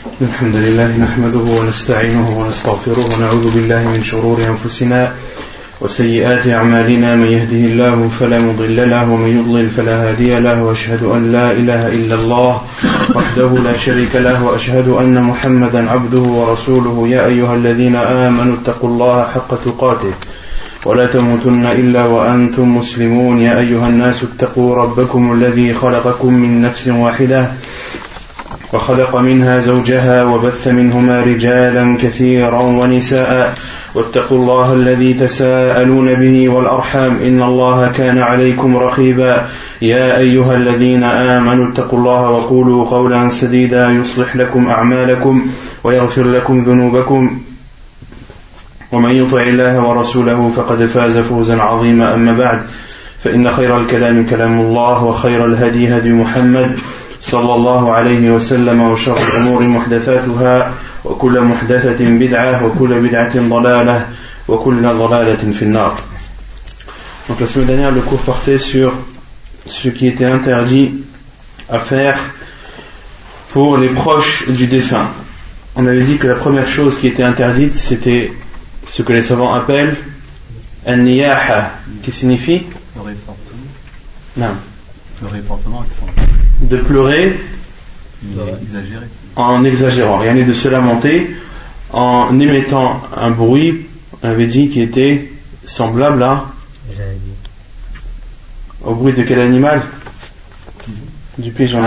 الحمد لله نحمده ونستعينه ونستغفره ونعوذ بالله من شرور أنفسنا وسيئات أعمالنا من يهده الله فلا مضل له ومن يضلل فلا هادي له وأشهد أن لا إله إلا الله وحده لا شريك له وأشهد أن محمدا عبده ورسوله يا أيها الذين آمنوا اتقوا الله حق تقاته ولا تموتن إلا وأنتم مسلمون يا أيها الناس اتقوا ربكم الذي خلقكم من نفس واحدة وخلق منها زوجها وبث منهما رجالا كثيرا ونساء واتقوا الله الذي تساءلون به والأرحام إن الله كان عليكم رقيبا يا أيها الذين آمنوا اتقوا الله وقولوا قولا سديدا يصلح لكم أعمالكم ويغفر لكم ذنوبكم ومن يطع الله ورسوله فقد فاز فوزا عظيما أما بعد فإن خير الكلام كلام الله وخير الهدي هدي محمد صلى الله عليه وسلم وشر الأمور محدثاتها وكل محدثة بدعة وكل بدعة ضلالة وكل ضلالة في النار. Donc la semaine dernière le cours portait sur ce qui était interdit à faire pour les proches du défunt. On avait dit que la première chose qui était interdite c'était ce que les savants appellent an-niyaha, qui signifie le réportement. Non. Le réportement de pleurer en exagérant, rien n'est de se lamenter en émettant un bruit, on avait dit, qui était semblable au bruit de quel animal? Du pigeon.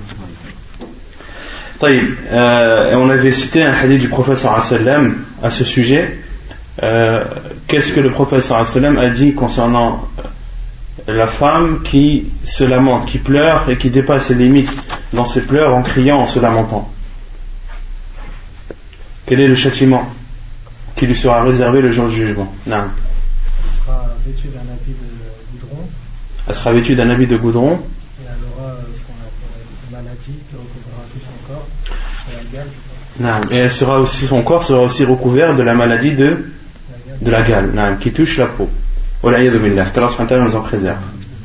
Et on avait cité un hadith du prophète sallallahu alayhi wa sallam à ce sujet. Qu'est-ce que le prophète sallallahu alayhi wa sallam a dit concernant la femme qui se lamente, qui pleure et qui dépasse ses limites dans ses pleurs en criant, en se lamentant? Quel est le châtiment qui lui sera réservé le jour du jugement? Non. Elle sera vêtue d'un habit de goudron. Elle sera vêtue d'un habit de goudron. Et elle aura ce qu'on appelle une maladie qui recouvrira tout son corps, la gale. Non. Et elle sera aussi, son corps sera aussi recouvert de la maladie de la gale, non, qui touche la peau. Qu'Allah nous en préserve.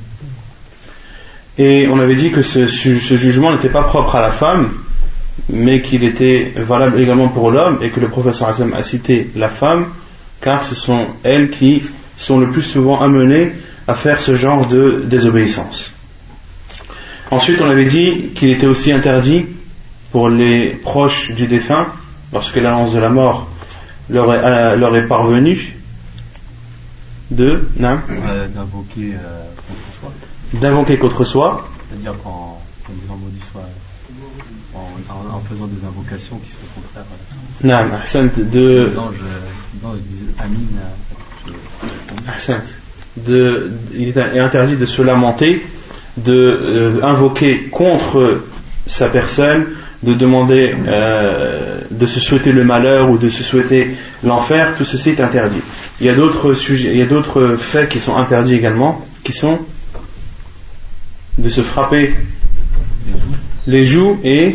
Et on avait dit que ce jugement n'était pas propre à la femme, mais qu'il était valable également pour l'homme, et que le prophète sallallahu alayhi wa sallam a cité la femme, car ce sont elles qui sont le plus souvent amenées à faire ce genre de désobéissance. Ensuite, on avait dit qu'il était aussi interdit pour les proches du défunt, lorsque l'annonce de la mort leur est parvenue, d'invoquer contre soi, c'est-à-dire qu'en disant maudit soit, en faisant des invocations qui sont contraires les anges disent Amin. Il est interdit de se lamenter, de invoquer contre sa personne, de demander, de se souhaiter le malheur ou de se souhaiter l'enfer. Tout ceci est interdit. Il y a d'autres sujets, il y a d'autres faits qui sont interdits également, qui sont de se frapper les joues et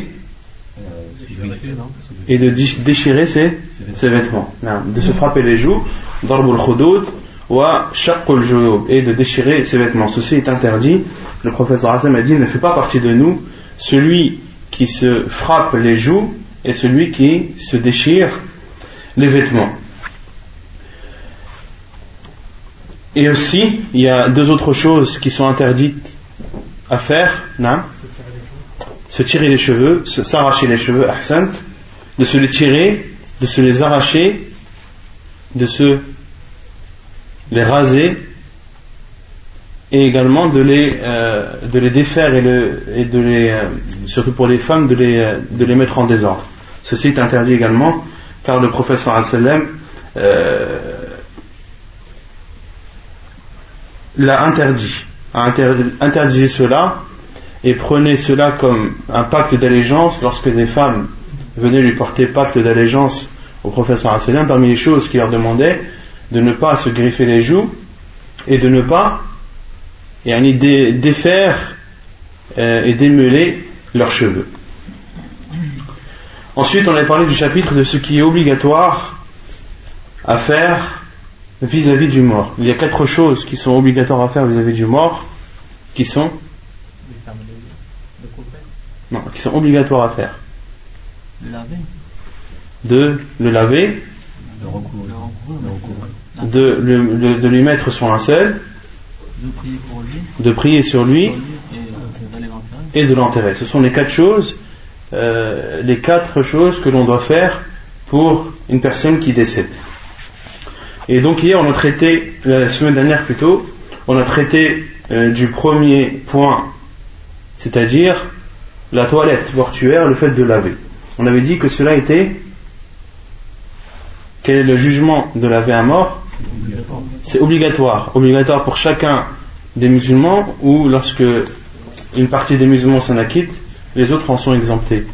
de déchirer ses vêtements. De se frapper les joues, darbul khudud wa shaqqul juyub, et de déchirer ses vêtements. Ceci est interdit. Le prophète sallallahu alayhi wa sallam a dit: ne fait pas partie de nous celui qui se frappe les joues et celui qui se déchire les vêtements. Et aussi, il y a deux autres choses qui sont interdites à faire. Se tirer les cheveux, s'arracher les cheveux, ahsant, de se les tirer, de se les arracher, de se les raser, et également de les défaire et de les, surtout pour les femmes, de les mettre en désordre. Ceci est interdit également, car le prophète sallallahu alayhi wa sallam l'a interdit, a interdit cela, et prenait cela comme un pacte d'allégeance lorsque des femmes venaient lui porter pacte d'allégeance au prophète sallallahu alayhi wa sallam. Parmi les choses qu'il leur demandait, de ne pas se griffer les joues et de ne pas défaire et démêler leurs cheveux. Ensuite, on a parlé du chapitre de ce qui est obligatoire à faire vis-à-vis du mort. Il y a 4 choses qui sont obligatoires à faire vis-à-vis du mort, qui sont obligatoires à faire. De le laver, de lui mettre son linceul, de prier sur lui et de l'enterrer. Ce sont les 4 choses, les 4 choses que l'on doit faire pour une personne qui décède. Et donc hier on a traité, la semaine dernière plutôt, on a traité du premier point, c'est-à-dire la toilette mortuaire, le fait de laver. On avait dit que cela était, quel est le jugement de laver un mort? C'est obligatoire pour chacun des musulmans, ou lorsque une partie des musulmans s'en acquitte, les autres en sont exemptés.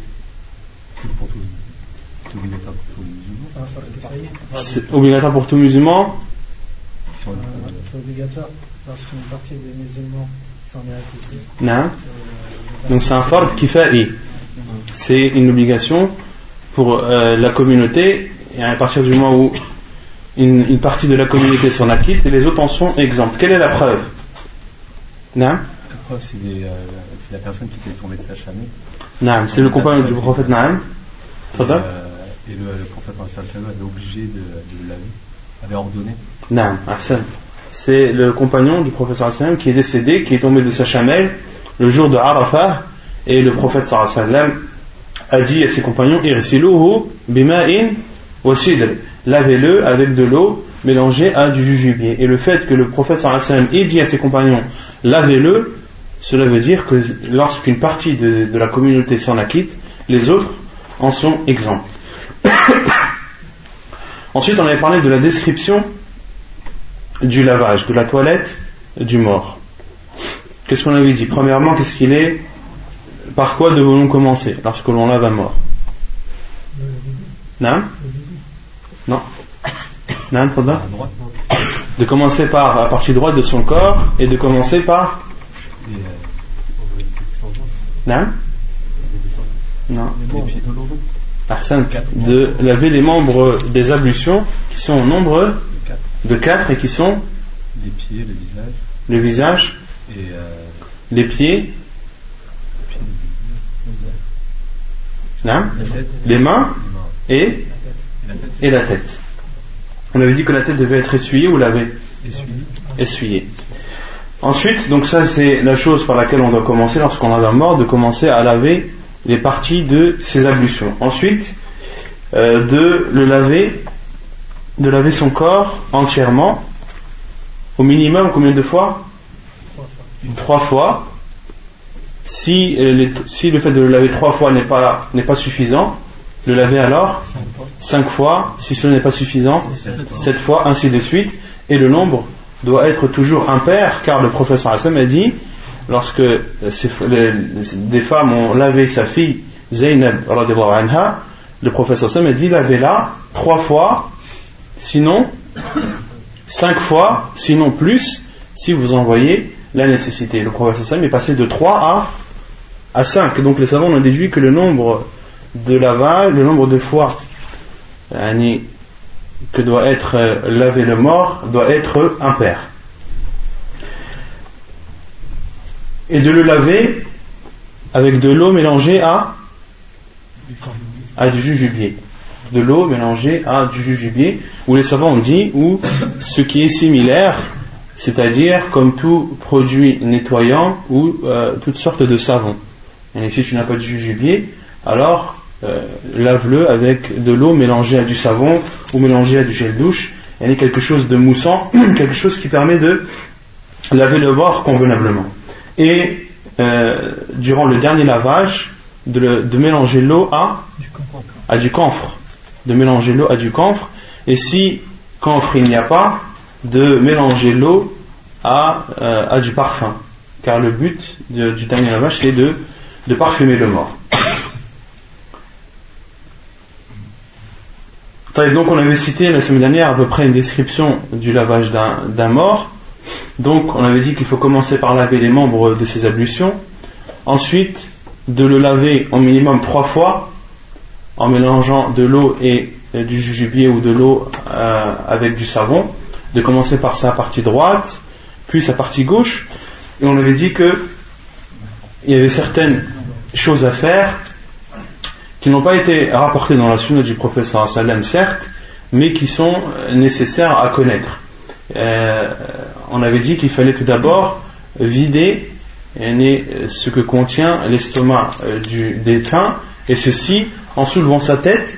C'est obligatoire pour tout musulman. C'est obligatoire lorsqu'une partie des musulmans s'en est acquittée. Non. Donc c'est un fard kifa'i. C'est une obligation pour la communauté, et à partir du moment où une partie de la communauté s'en acquitte, et les autres en sont exempts. Quelle est la preuve? Non. La preuve, c'est la personne qui était tombée de sa chameau. Non, c'est le compagnon du prophète Naam. Et le prophète avait obligé de le laver, avait ordonné. Non, Ahsan. C'est le compagnon du prophète sallam qui est décédé, qui est tombé de sa chamelle le jour de Arafah, et le prophète sallam a dit à ses compagnons: Irsiluhu bima'in wa sidr, lavez-le avec de l'eau mélangée à du jujubier. Et le fait que le prophète sallam ait dit à ses compagnons lavez-le, cela veut dire que lorsqu'une partie de la communauté s'en acquitte, les autres en sont exempts. Ensuite, on avait parlé de la description du lavage, de la toilette du mort. Qu'est-ce qu'on avait dit? Premièrement, qu'est-ce qu'il est? Par quoi devons-nous commencer lorsque l'on lave un mort? Non? Non? Non, Fadda? De commencer par la partie droite de son corps, et de commencer par? Non? Non. De laver les membres des ablutions qui sont au nombre de 4 et qui sont les pieds, le visage et les pieds, non, les mains et la tête. On avait dit que la tête devait être essuyée ou lavée? Essuyée. Ensuite, donc ça c'est la chose par laquelle on doit commencer lorsqu'on lave un mort, de commencer à laver les parties de ses ablutions. Ensuite, de laver son corps entièrement, au minimum combien de fois? 3 fois. Si le fait de le laver 3 fois n'est pas suffisant, le laver alors 5 fois. Si ce n'est pas suffisant, 7 fois, ainsi de suite. Et le nombre doit être toujours impair, car le prophète sallam a dit, lorsque des femmes ont lavé sa fille Zaynab radhiyallahu anha, le prophète sallam a dit lavez-la 3 fois, sinon 5 fois, sinon plus, si vous en voyez la nécessité. Le prophète sallam est passé de 3 à 5. Donc les savants ont déduit que le nombre de lavage, le nombre de fois que doit être lavé le mort doit être impair. Et de le laver avec de l'eau mélangée à du jujubier. De l'eau mélangée à du jujubier, où les savants ont dit, ou ce qui est similaire, c'est-à-dire comme tout produit nettoyant ou toutes sortes de savons. Et si tu n'as pas de jujubier, alors lave-le avec de l'eau mélangée à du savon ou mélangée à du gel douche. Il y a quelque chose de moussant, quelque chose qui permet de laver le mort convenablement. Et durant le dernier lavage, de mélanger l'eau à du camphre. De mélanger l'eau à du camphre. Et si camphre il n'y a pas, de mélanger l'eau à du parfum. Car le but du dernier lavage, c'est de parfumer le mort. Donc on avait cité la semaine dernière à peu près une description du lavage d'un mort. Donc on avait dit qu'il faut commencer par laver les membres de ses ablutions, ensuite de le laver au minimum 3 fois en mélangeant de l'eau et du jujubier ou de l'eau avec du savon, de commencer par sa partie droite puis sa partie gauche. Et on avait dit que il y avait certaines choses à faire qui n'ont pas été rapportés dans la sunna du prophète sallallahu alayhi wa sallam, certes, mais qui sont nécessaires à connaître. On avait dit qu'il fallait tout d'abord vider ce que contient l'estomac du défunt, et ceci en soulevant sa tête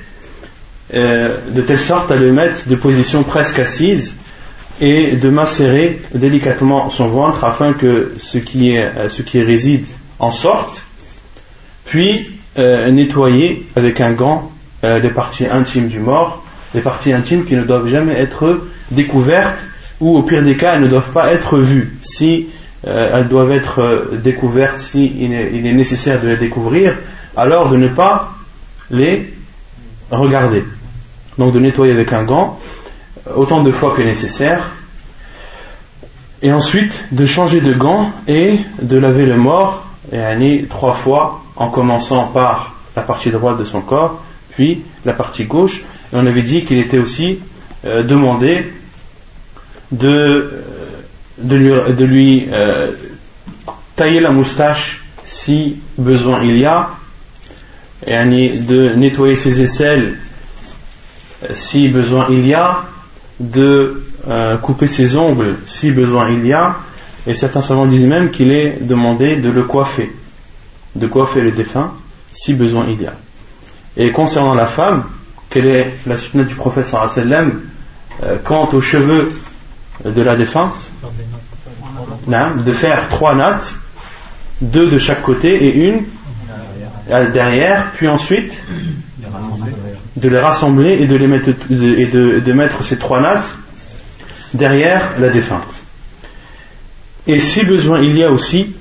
de telle sorte à le mettre de position presque assise et de macérer délicatement son ventre afin que ce qui réside en sorte, puis nettoyer avec un gant les parties intimes du mort, les parties intimes qui ne doivent jamais être découvertes, ou au pire des cas elles ne doivent pas être vues. Si elles doivent être découvertes, si il est nécessaire de les découvrir, alors de ne pas les regarder. Donc de nettoyer avec un gant autant de fois que nécessaire, et ensuite de changer de gant et de laver le mort 3 fois, en commençant par la partie droite de son corps, puis la partie gauche. Et on avait dit qu'il était aussi demandé de lui tailler la moustache si besoin il y a, et de nettoyer ses aisselles si besoin il y a, de couper ses ongles si besoin il y a, et certains savants disent même qu'il est demandé de le coiffer, le défunt si besoin il y a. Et concernant la femme, quelle est la sunna du prophète sallallahu alayhi wa sallam quant aux cheveux de la défunte? De faire 3 nattes, 2 de chaque côté et une derrière, puis ensuite de les rassembler et de mettre ces 3 nattes derrière la défunte. Et si besoin il y a aussi,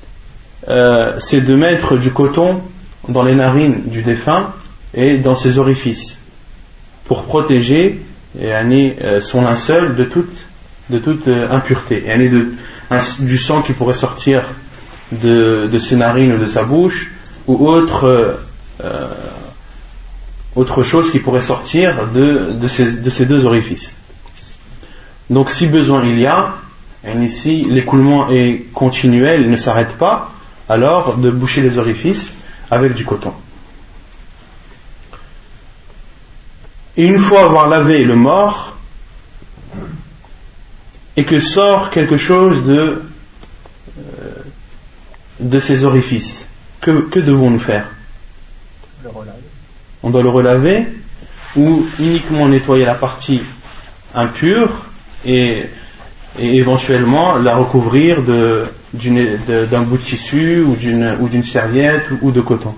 c'est de mettre du coton dans les narines du défunt et dans ses orifices pour protéger son linceul de toute impureté, et du sang qui pourrait sortir de ses narines ou de sa bouche, ou autre chose qui pourrait sortir de ces 2 orifices. Donc si besoin il y a, et si l'écoulement est continuel, il ne s'arrête pas, alors de boucher les orifices avec du coton. Et une fois avoir lavé le mort et que sort quelque chose de ces orifices, que devons-nous faire? On doit le relaver, ou uniquement nettoyer la partie impure et éventuellement la recouvrir d'un bout de tissu ou d'une serviette ou de coton.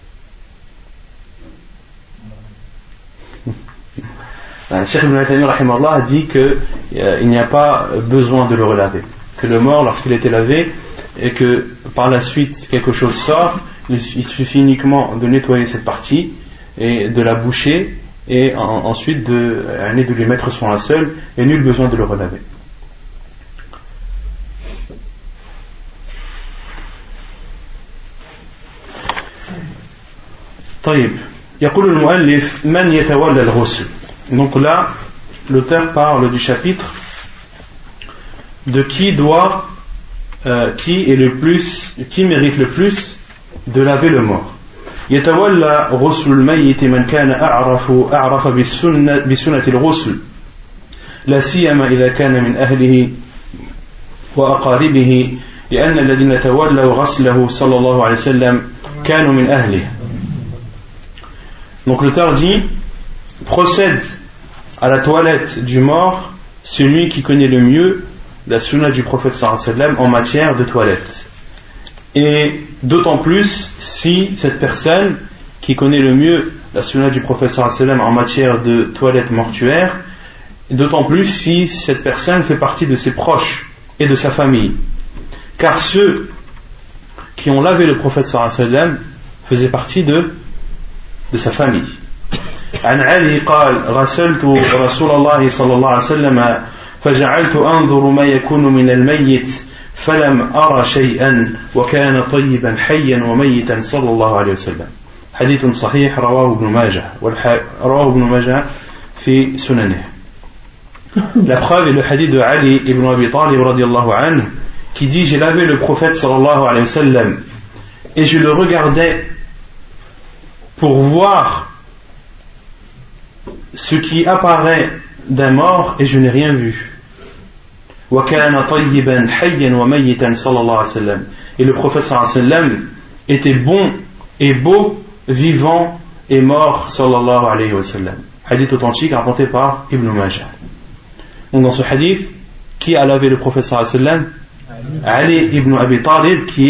Cheikh Ibn Taymiyyah rahimahullah a dit qu'il n'y a pas besoin de le relaver, que le mort, lorsqu'il a été lavé et que par la suite quelque chose sort, il suffit uniquement de nettoyer cette partie et de la boucher, et ensuite de lui mettre son linceul, et nul besoin de le relaver. طيب يقول المؤلف من يتولى الغسل. Donc là l'auteur parle du chapitre de qui mérite le plus de laver le mort. يتولى غسل الميت من كان أعرف بسنة الغسل لا سيما إذا كان من أهله وأقاربه لأن الذين تولوا غسله صلى الله عليه وسلم كانوا من أهله. Donc l'auteur dit, procède à la toilette du mort celui qui connaît le mieux la sunna du prophète sallallahu alayhi wa sallam en matière de toilette. Et d'autant plus si cette personne qui connaît le mieux la sunna du prophète sallallahu alayhi wa sallam en matière de toilette mortuaire, d'autant plus si cette personne fait partie de ses proches et de sa famille. Car ceux qui ont lavé le prophète sallallahu alayhi wa sallam faisaient partie de sa famille. عن علي قال غسلت رسول الله صلى الله عليه وسلم فجعلت أنظر ما يكون من الميت فلم أرى شيئا وكان طيبا حيا وميتا صلى الله عليه وسلم. حديث صحيح رواه ابن ماجه في سننه. La preuve est le hadith de Ali ibn Abi Talib radiyallahu anhu qui dit: j'ai lavé le prophète sallallahu alayhi wa sallam et je le regardais pour voir ce qui apparaît d'un mort et je n'ai rien vu. Et le prophète sallallahu alayhi wa sallam était bon et beau, vivant et mort sallallahu alayhi wa sallam. Hadith authentique rapporté par Ibn Majah. Donc dans ce hadith, qui a lavé le prophète sallallahu alayhi wa sallam? Ali ibn Abi Talib, qui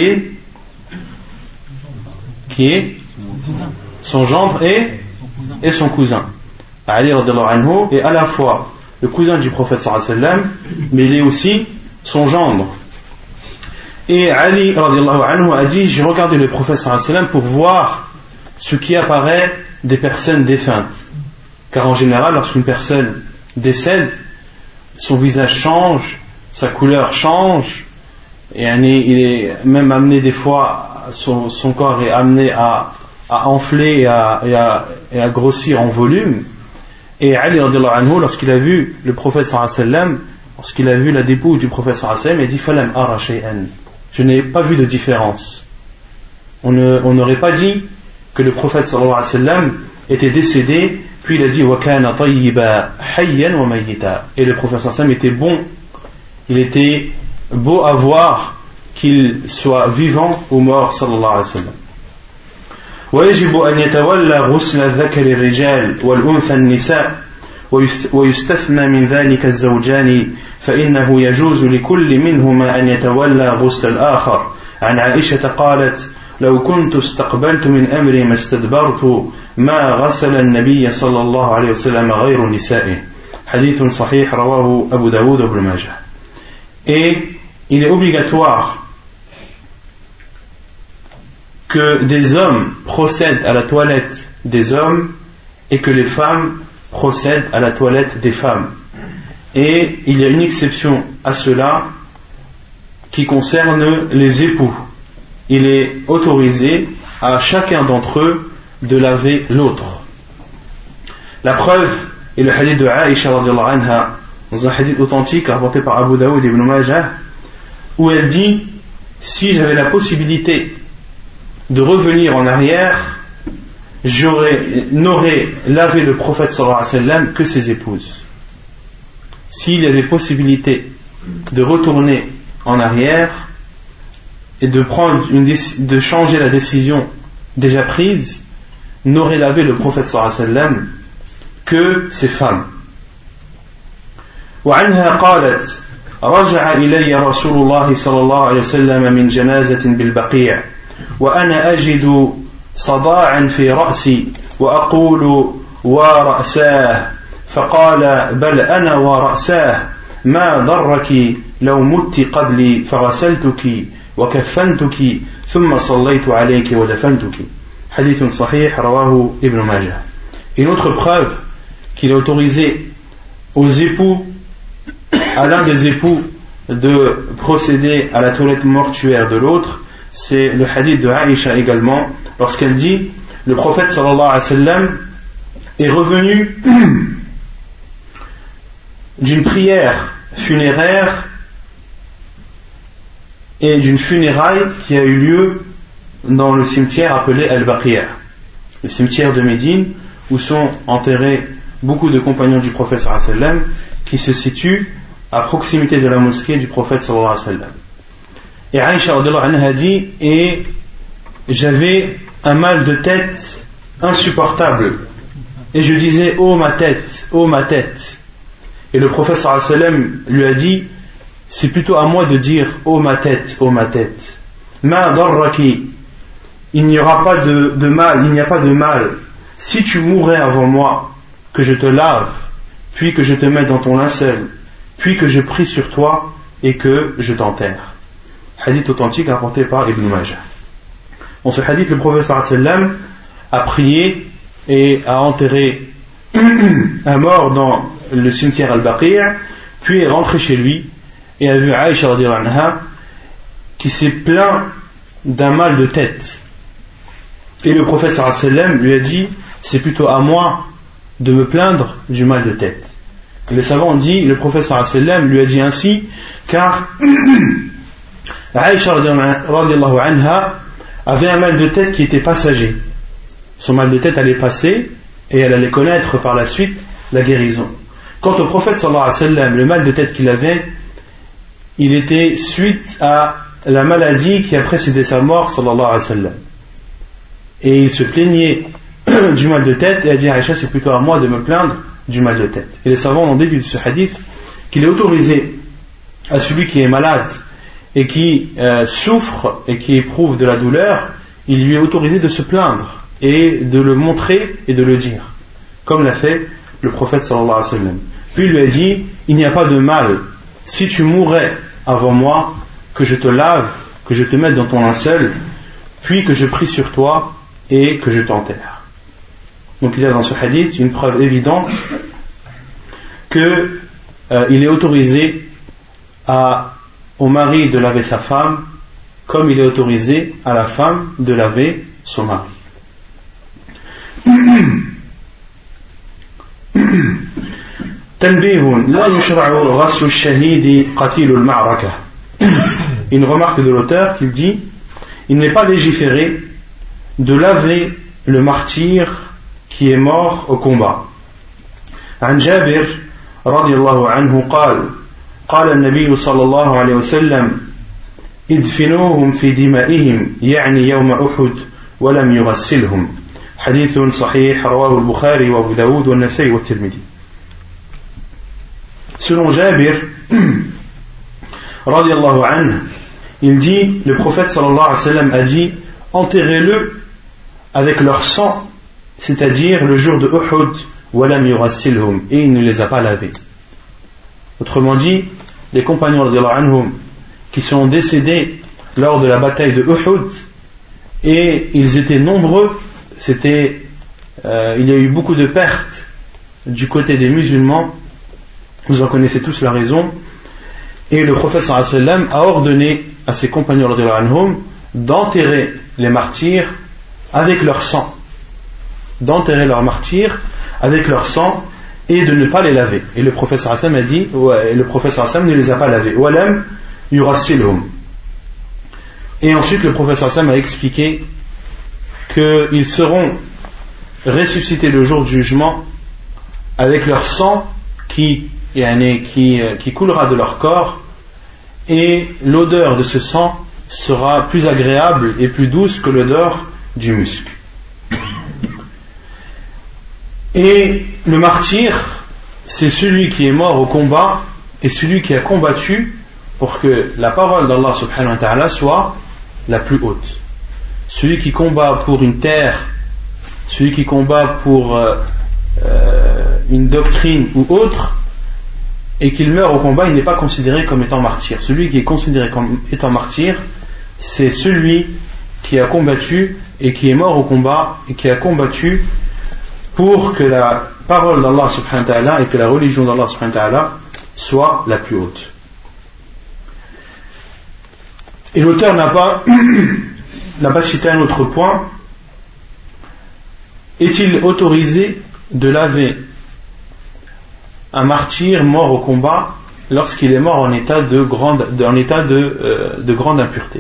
est son gendre et son cousin. Ali radhiyallahu anhu est à la fois le cousin du prophète sallallahu alayhi wa sallam, mais il est aussi son gendre. Et Ali radhiyallahu anhu a dit: j'ai regardé le prophète sallallahu alayhi wa sallam pour voir ce qui apparaît des personnes défuntes. Car en général, lorsqu'une personne décède, son visage change, sa couleur change, et il est même amené des fois, son corps est amené à enfler et à grossir en volume. Et Ali radhiyallahu anhu, lorsqu'il a vu le prophète sallallahu alayhi wa sallam, lorsqu'il a vu la dépouille du prophète sallallahu alayhi wa sallam, il a dit: falam ara shay'an, je n'ai pas vu de différence. On n'aurait pas dit que le prophète sallallahu alayhi wa sallam était décédé, puis il a dit: wa kana tayyiba hayyan wa mayyita, et le prophète sallallahu alayhi wa sallam était bon, il était beau à voir, qu'il soit vivant ou mort sallallahu alayhi wa sallam. ويجب أن يتولى غسل الذكر الرجال والأنثى النساء ويستثنى من ذلك الزوجان فإنه يجوز لكل منهما أن يتولى غسل الآخر. عن عائشة قالت: لو كنت استقبلت من أمري ما استدبرت ما غسل النبي صلى الله عليه وسلم غير نسائه. حديث صحيح رواه أبو داود وابن ماجه. Et il est obligatoire que des hommes procèdent à la toilette des hommes et que les femmes procèdent à la toilette des femmes. Et il y a une exception à cela qui concerne les époux. Il est autorisé à chacun d'entre eux de laver l'autre. La preuve est le hadith de Aïcha radhiyallahu anha, dans un hadith authentique rapporté par Abu Daoud et Ibn Majah, où elle dit: si j'avais la possibilité de revenir en arrière, n'aurais lavé le prophète sallallahu alayhi wa sallam que ses épouses. S'il y avait possibilité de retourner en arrière et de changer la décision déjà prise, n'aurait lavé le prophète sallallahu alayhi wa sallam que ses femmes. وعنها قالت: رجع إلي رسول الله صلى الله عليه وسلم من جنازة بالبقيع وأنا أجد صداعا في رأسي وأقول: ورأساه، فقال: بل أنا ورأساه، ما ضرك لو مت قبلي فغسلتك وكفنتك ثم صليت عليك ودفنتك. حديث صحيح رواه ابن ماجه. Une autre preuve qu'il est autorisé aux époux, à l'un des époux, de procéder à la toilette mortuaire de l'autre, c'est le hadith de Aïcha également, lorsqu'elle dit: le prophète sallallahu alayhi wa sallam est revenu d'une prière funéraire et d'une funéraille qui a eu lieu dans le cimetière appelé Al-Baqi', le cimetière de Médine, où sont enterrés beaucoup de compagnons du prophète sallallahu alayhi wa sallam, qui se situe à proximité de la mosquée du prophète sallallahu alayhi wa sallam. Et Aïcha radhiyallahu anha dit: et j'avais un mal de tête insupportable, et je disais: oh ma tête, oh ma tête. Et le prophète sallallahu alayhi wa sallam lui a dit: c'est plutôt à moi de dire oh ma tête, oh ma tête. Ma darraki, il n'y aura pas de mal, il n'y a pas de mal si tu mourrais avant moi, que je te lave, puis que je te mette dans ton linceul, puis que je prie sur toi et que je t'enterre. Hadith authentique rapporté par Ibn Majah. Dans ce hadith, le prophète sallallahu alayhi wa sallam a prié et a enterré un mort dans le cimetière Al-Baqi', puis est rentré chez lui et a vu Aïcha radhiyallahu anha qui s'est plaint d'un mal de tête. Et le prophète sallallahu alayhi wa sallam lui a dit: c'est plutôt à moi de me plaindre du mal de tête. Et les savants ont dit: le prophète sallallahu alayhi wa sallam lui a dit ainsi car Aïcha radhiyallahu anha avait un mal de tête qui était passager. son mal de tête allait passer et elle allait connaître par la suite la guérison. Quant au prophète sallallahu alayhi wa sallam, le mal de tête qu'il avait, il était suite à la maladie qui a précédé sa mort sallallahu alayhi wa sallam. Et il se plaignait du mal de tête et a dit à Aïcha, c'est plutôt à moi de me plaindre du mal de tête. Et les savants ont déduit de ce hadith qu'il est autorisé à celui qui est malade et qui souffre et qui éprouve de la douleur, il lui est autorisé de se plaindre et de le montrer et de le dire, comme l'a fait le prophète sallallahu alayhi wa sallam. Puis il lui a dit, il n'y a pas de mal si tu mourrais avant moi, que je te lave, que je te mette dans ton linceul, puis que je prie sur toi et que je t'enterre. Donc il y a dans ce hadith une preuve évidente que il est autorisé au mari de laver sa femme comme il est autorisé à la femme de laver son mari. تنبيه لا يشرع غسل الشهيد قتيل المعركة. Une remarque de l'auteur qui dit, il n'est pas légiféré de laver le martyr qui est mort au combat. عن جابر رضي الله عنه قال النبي صلى الله عليه وسلم ادفنوهم في دمائهم يعني يوم أحد ولم يغسلهم. حديث صحيح رواه البخاري وأبو داود والنسائي والترمذي. Selon Jabir radiyallahu anhu, il dit, le prophète sallallahu alayhi wa sallam a dit, enterrez-le avec leur sang, c'est-à-dire le jour de Uhud, walam yurassilhum, et il ne les a pas lavés. Autrement dit, les compagnons radiyallahu anhum qui sont décédés lors de la bataille de Uhud, et ils étaient nombreux, il y a eu beaucoup de pertes du côté des musulmans, vous en connaissez tous la raison, et le prophète sallallahu alayhi wa sallam a ordonné à ses compagnons radiyallahu anhum d'enterrer les martyrs avec leur sang, d'enterrer leurs martyrs avec leur sang et de ne pas les laver. Et le prophète sallallahu alayhi wa sallam a dit, le prophète sallallahu alayhi wa sallam ne les a pas lavés. Walam yurassilhum. Et ensuite le prophète sallallahu alayhi wa sallam a expliqué qu'ils seront ressuscités le jour du jugement avec leur sang qui coulera de leur corps, et l'odeur de ce sang sera plus agréable et plus douce que l'odeur du musc. Et le martyr, c'est celui qui est mort au combat et celui qui a combattu pour que la parole d'Allah subhanahu wa ta'ala soit la plus haute. Celui qui combat pour une terre, celui qui combat pour une doctrine ou autre, et qu'il meurt au combat, il n'est pas considéré comme étant martyr. Celui qui est considéré comme étant martyr, c'est celui qui a combattu et qui est mort au combat et qui a combattu pour que la parole d'Allah subhanahu wa ta'ala et que la religion d'Allah subhanahu wa ta'ala soit la plus haute. Et l'auteur n'a pas cité un autre point. Est-il autorisé de laver un martyr mort au combat lorsqu'il est mort en état de grande impureté?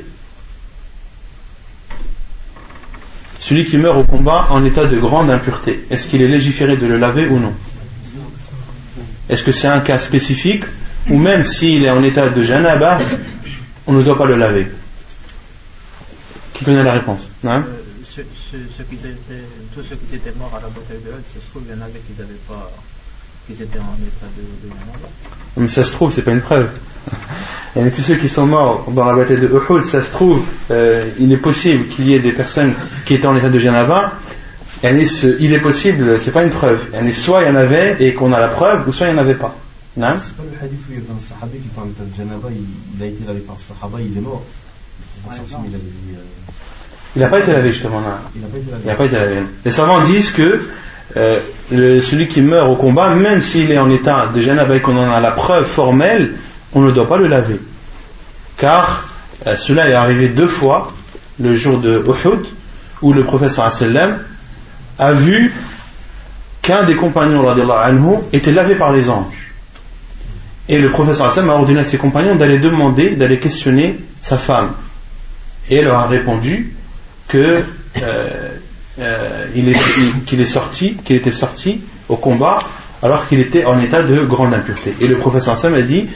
Celui qui meurt au combat en état de grande impureté, est-ce qu'il est légiféré de le laver ou non? Est-ce que c'est un cas spécifique, ou même s'il est en état de janaba, on ne doit pas le laver? Qui connaît la réponse? Non? Tous ceux qui étaient morts à la bataille de Uhud, ça se trouve, il y en avait qui n'avaient pas, qui étaient en état de janaba. Mais ça se trouve, c'est pas une preuve. Et tous ceux qui sont morts dans la bataille de Uhud, ça se trouve, il est possible qu'il y ait des personnes qui étaient en état de janaba. Il est possible, c'est pas une preuve. Soit il y en avait et qu'on a la preuve, ou soit il n'y en avait pas. Non? C'est pas le hadith où il y avait un sahabi qui était en état de janaba, il a été lavé par le sahaba, il est mort. Il n'a pas été lavé justement. Il n'a pas été lavé. Les savants disent que celui qui meurt au combat, même s'il est en état de janaba et qu'on en a la preuve formelle, on ne doit pas le laver. Car cela est arrivé 2 fois, le jour de Uhud, où le prophète sallallahu alayhi wa sallam a vu qu'un des compagnons radiyallahu anhu était lavé par les anges. Et le prophète sallallahu alayhi wa sallam a ordonné à ses compagnons d'aller questionner sa femme. Et elle leur a répondu que qu'il était sorti au combat alors qu'il était en état de grande impureté. Et le prophète Sam a dit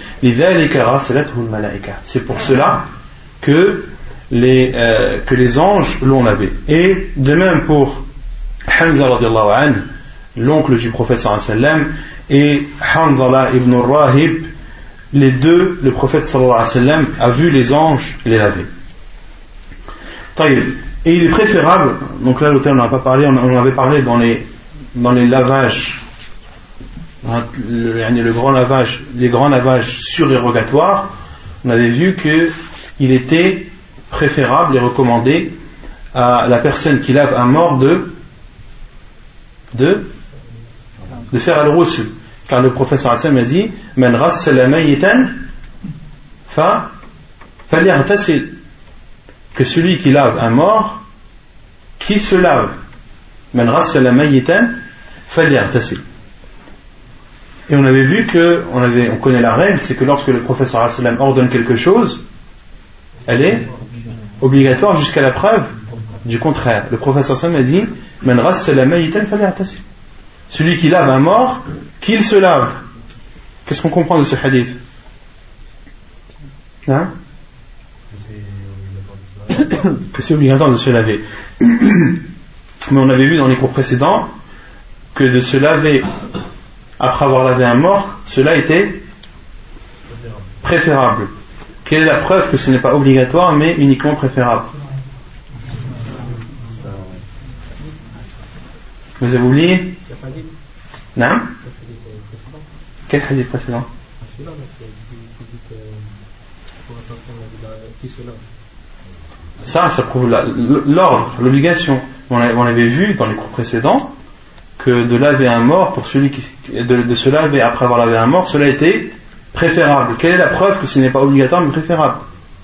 c'est pour cela que les anges l'ont lavé. Et de même pour Hamza radiallahu anhu, l'oncle du prophète sallam, et Hanzala ibn Rahib, les deux, le prophète sallallahu alayhi wa sallam a vu les anges les laver. Et il est préférable, donc là l'auteur n'en a pas parlé, on en avait parlé dans les lavages, les grands lavages surérogatoires, on avait vu qu'il était préférable et recommandé à la personne qui lave un mort de faire al-ghusl, car le prophète sallallahu alayhi wa sallam a dit man ghassala mayitan falyaghtasil, que celui qui lave un mort, qui se lave. Man ghassala mayitan falyaghtasil. Et on avait vu on connaît la règle, c'est que lorsque le prophète sallallahu alayhi wa sallam ordonne quelque chose, elle est obligatoire jusqu'à la preuve du contraire. Le prophète sallallahu alayhi wa sallam a dit man ghassala mayitan falyaghtasil, celui qui lave un mort, qu'il se lave. Qu'est-ce qu'on comprend de ce hadith? Hein? Que c'est obligatoire de se laver. Mais on avait vu dans les cours précédents que de se laver après avoir lavé un mort, cela était préférable. Quelle est la preuve que ce n'est pas obligatoire mais uniquement préférable? Vous avez oublié? Non? Quel hadith précédent? Ça prouve l'ordre, l'obligation. On avait vu dans les cours précédents que de laver un mort pour celui de se laver après avoir lavé un mort, cela était préférable. Quelle est la preuve que ce n'est pas obligatoire mais préférable?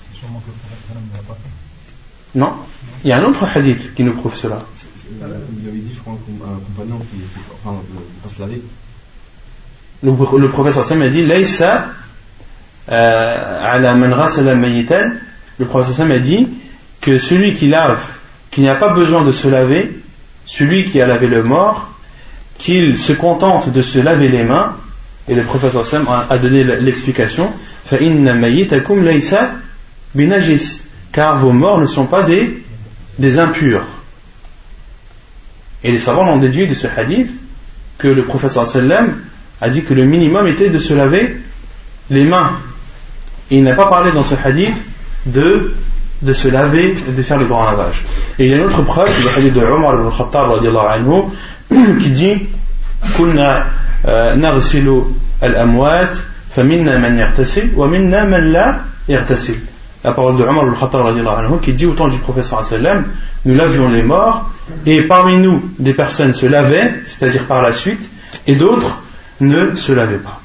Non, il y a un autre hadith qui nous prouve cela. Il avait dit, je crois, un compagnon qui va se laver. Le professeur Sam a dit Laysa ala man ghasala mayitan. Le professeur Sam a dit que celui qui lave, qui n'a pas besoin de se laver, celui qui a lavé le mort, qu'il se contente de se laver les mains. Et le professeur Sam a donné l'explication fa inna mayitakum laysa binajis, car vos morts ne sont pas des impurs. Et les savants ont déduit de ce hadith que le prophète sallam a dit que le minimum était de se laver les mains. Et il n'a pas parlé dans ce hadith de se laver et de faire le grand lavage. Et il y a une autre preuve, c'est le hadith de Omar ibn Khattab radiallahu anhu, qui dit Kunna naghsilu al-amwat faminna man yartasil wa minna man la yartasil. La parole de Omar ibn Khattab radiallahu anhu qui dit au temps du prophète sallallahu alayhi wa sallam, nous lavions les morts et parmi nous des personnes se lavaient, c'est-à-dire par la suite, et d'autres ne se lavaient pas.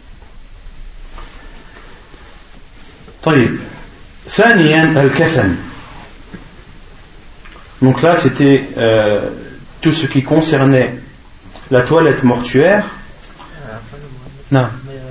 طيب ثانيا الكفن. Donc là c'était tout ce qui concernait la toilette mortuaire. Non.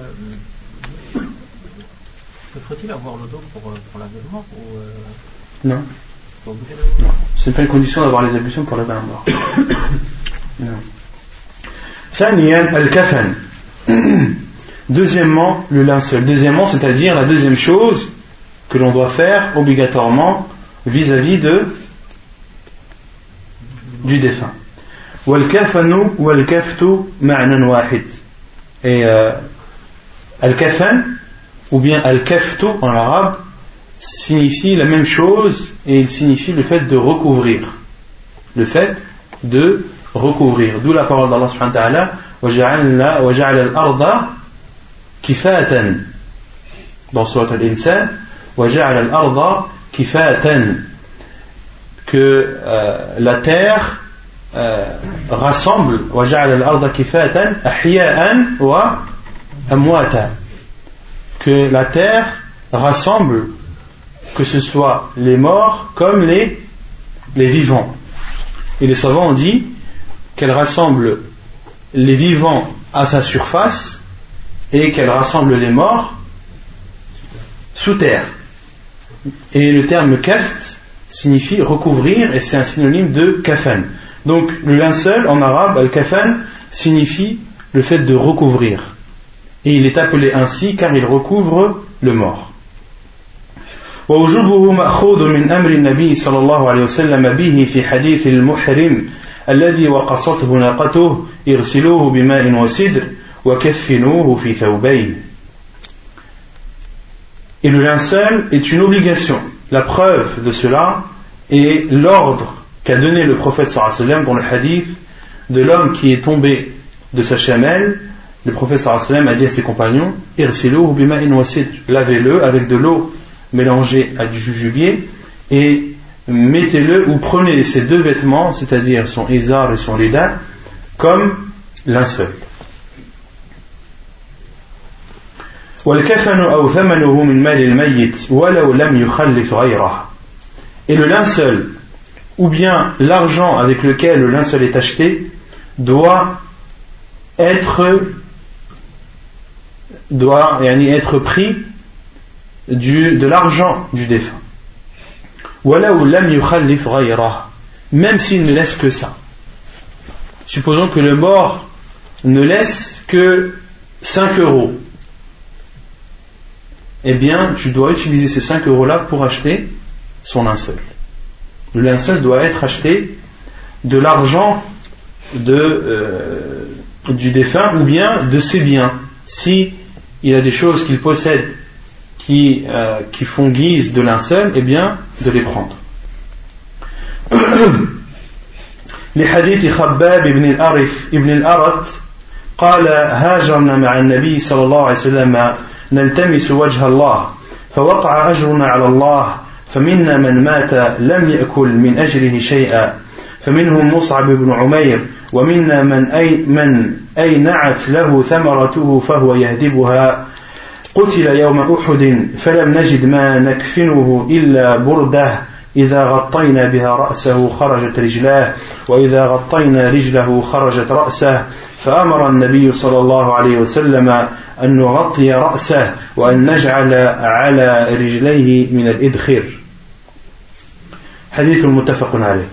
Faut-il avoir l'eau d'eau pour laver le mort ou Non. Non. Ce n'est pas une condition d'avoir les ablutions pour laver un mort. Non. ثانيا الكفن. Deuxièmement, le linceul. Deuxièmement, c'est-à-dire la deuxième chose que l'on doit faire obligatoirement vis-à-vis du défunt. والكفن والكفت معنى واحد. Et al-kafan ou bien al-kaftu en arabe signifie la même chose et il signifie le fait de recouvrir. Le fait de recouvrir. D'où la parole d'Allah subhanahu wa ta'ala وَجَعَلَ الْأَرْضَ كِفَاتًا dans Surat Al-Insan وَجَعَلَ الْأَرْضَ كِفَاتًا que la terre rassemble وَجَعَلَ الْأَرْضَ كِفَاتًا أَحْيَاءً وَأَمْوَاتًا que la terre rassemble que ce soit les morts comme les vivants. Et les savants ont dit qu'elle rassemble les vivants à sa surface et qu'elle rassemble les morts sous terre. Et le terme kaft signifie recouvrir et c'est un synonyme de kafan. Donc le linceul en arabe, al-kafan, signifie le fait de recouvrir. Et il est appelé ainsi car il recouvre le mort. ووجوبه مأخوذ من أمر النبي صلى الله عليه وسلم به في حديث المحرم الذي وقصته ناقته اغسلوه بماء وسدر وكفنوه في ثوبين. Et le linceul est une obligation. La preuve de cela est l'ordre qu'a donné le prophète sallallahu alayhi wa sallam dans le hadith de l'homme qui est tombé de sa chamelle. Le prophète sallallahu alayhi wa sallam a dit à ses compagnons, irsiluhu bima'in wa sidr, lavez-le avec de l'eau mélangée à du jujubier et mettez-le ou prenez ses deux vêtements, c'est-à-dire son izar et son rida, comme linceul. والكفن أو ثمنه من مال الميت ولو لم يخلف غيره. Et le linceul ou bien l'argent avec lequel le linceul est acheté doit être pris de l'argent du défunt. ولو لم يخلف غيره, même s'il ne laisse que ça. Supposons que le mort ne laisse que 5 euros. Eh bien, tu dois utiliser ces 5 euros-là pour acheter son linceul. Le linceul doit être acheté de l'argent du défunt ou bien de ses biens. Si il a des choses qu'il possède qui font guise de linceul, eh bien, de les prendre. لحديث خباب ابن الأرت قال هاجرنا مع النبي صلى الله عليه وسلم نلتمس وجه الله فوقع أجرنا على الله فمنا من مات لم يأكل من أجره شيئا فمنهم مصعب بن عمير ومنا من أينعت له ثمرته فهو يهدبها قتل يوم أحد فلم نجد ما نكفنه إلا بردة إذا غطينا بها رأسه خرجت رجلاه وإذا غطينا رجله خرجت رأسه فأمر النبي صلى الله عليه وسلم أن نغطي رأسه وأن نجعل على رجليه من الإدخر. حديث متفق عليه.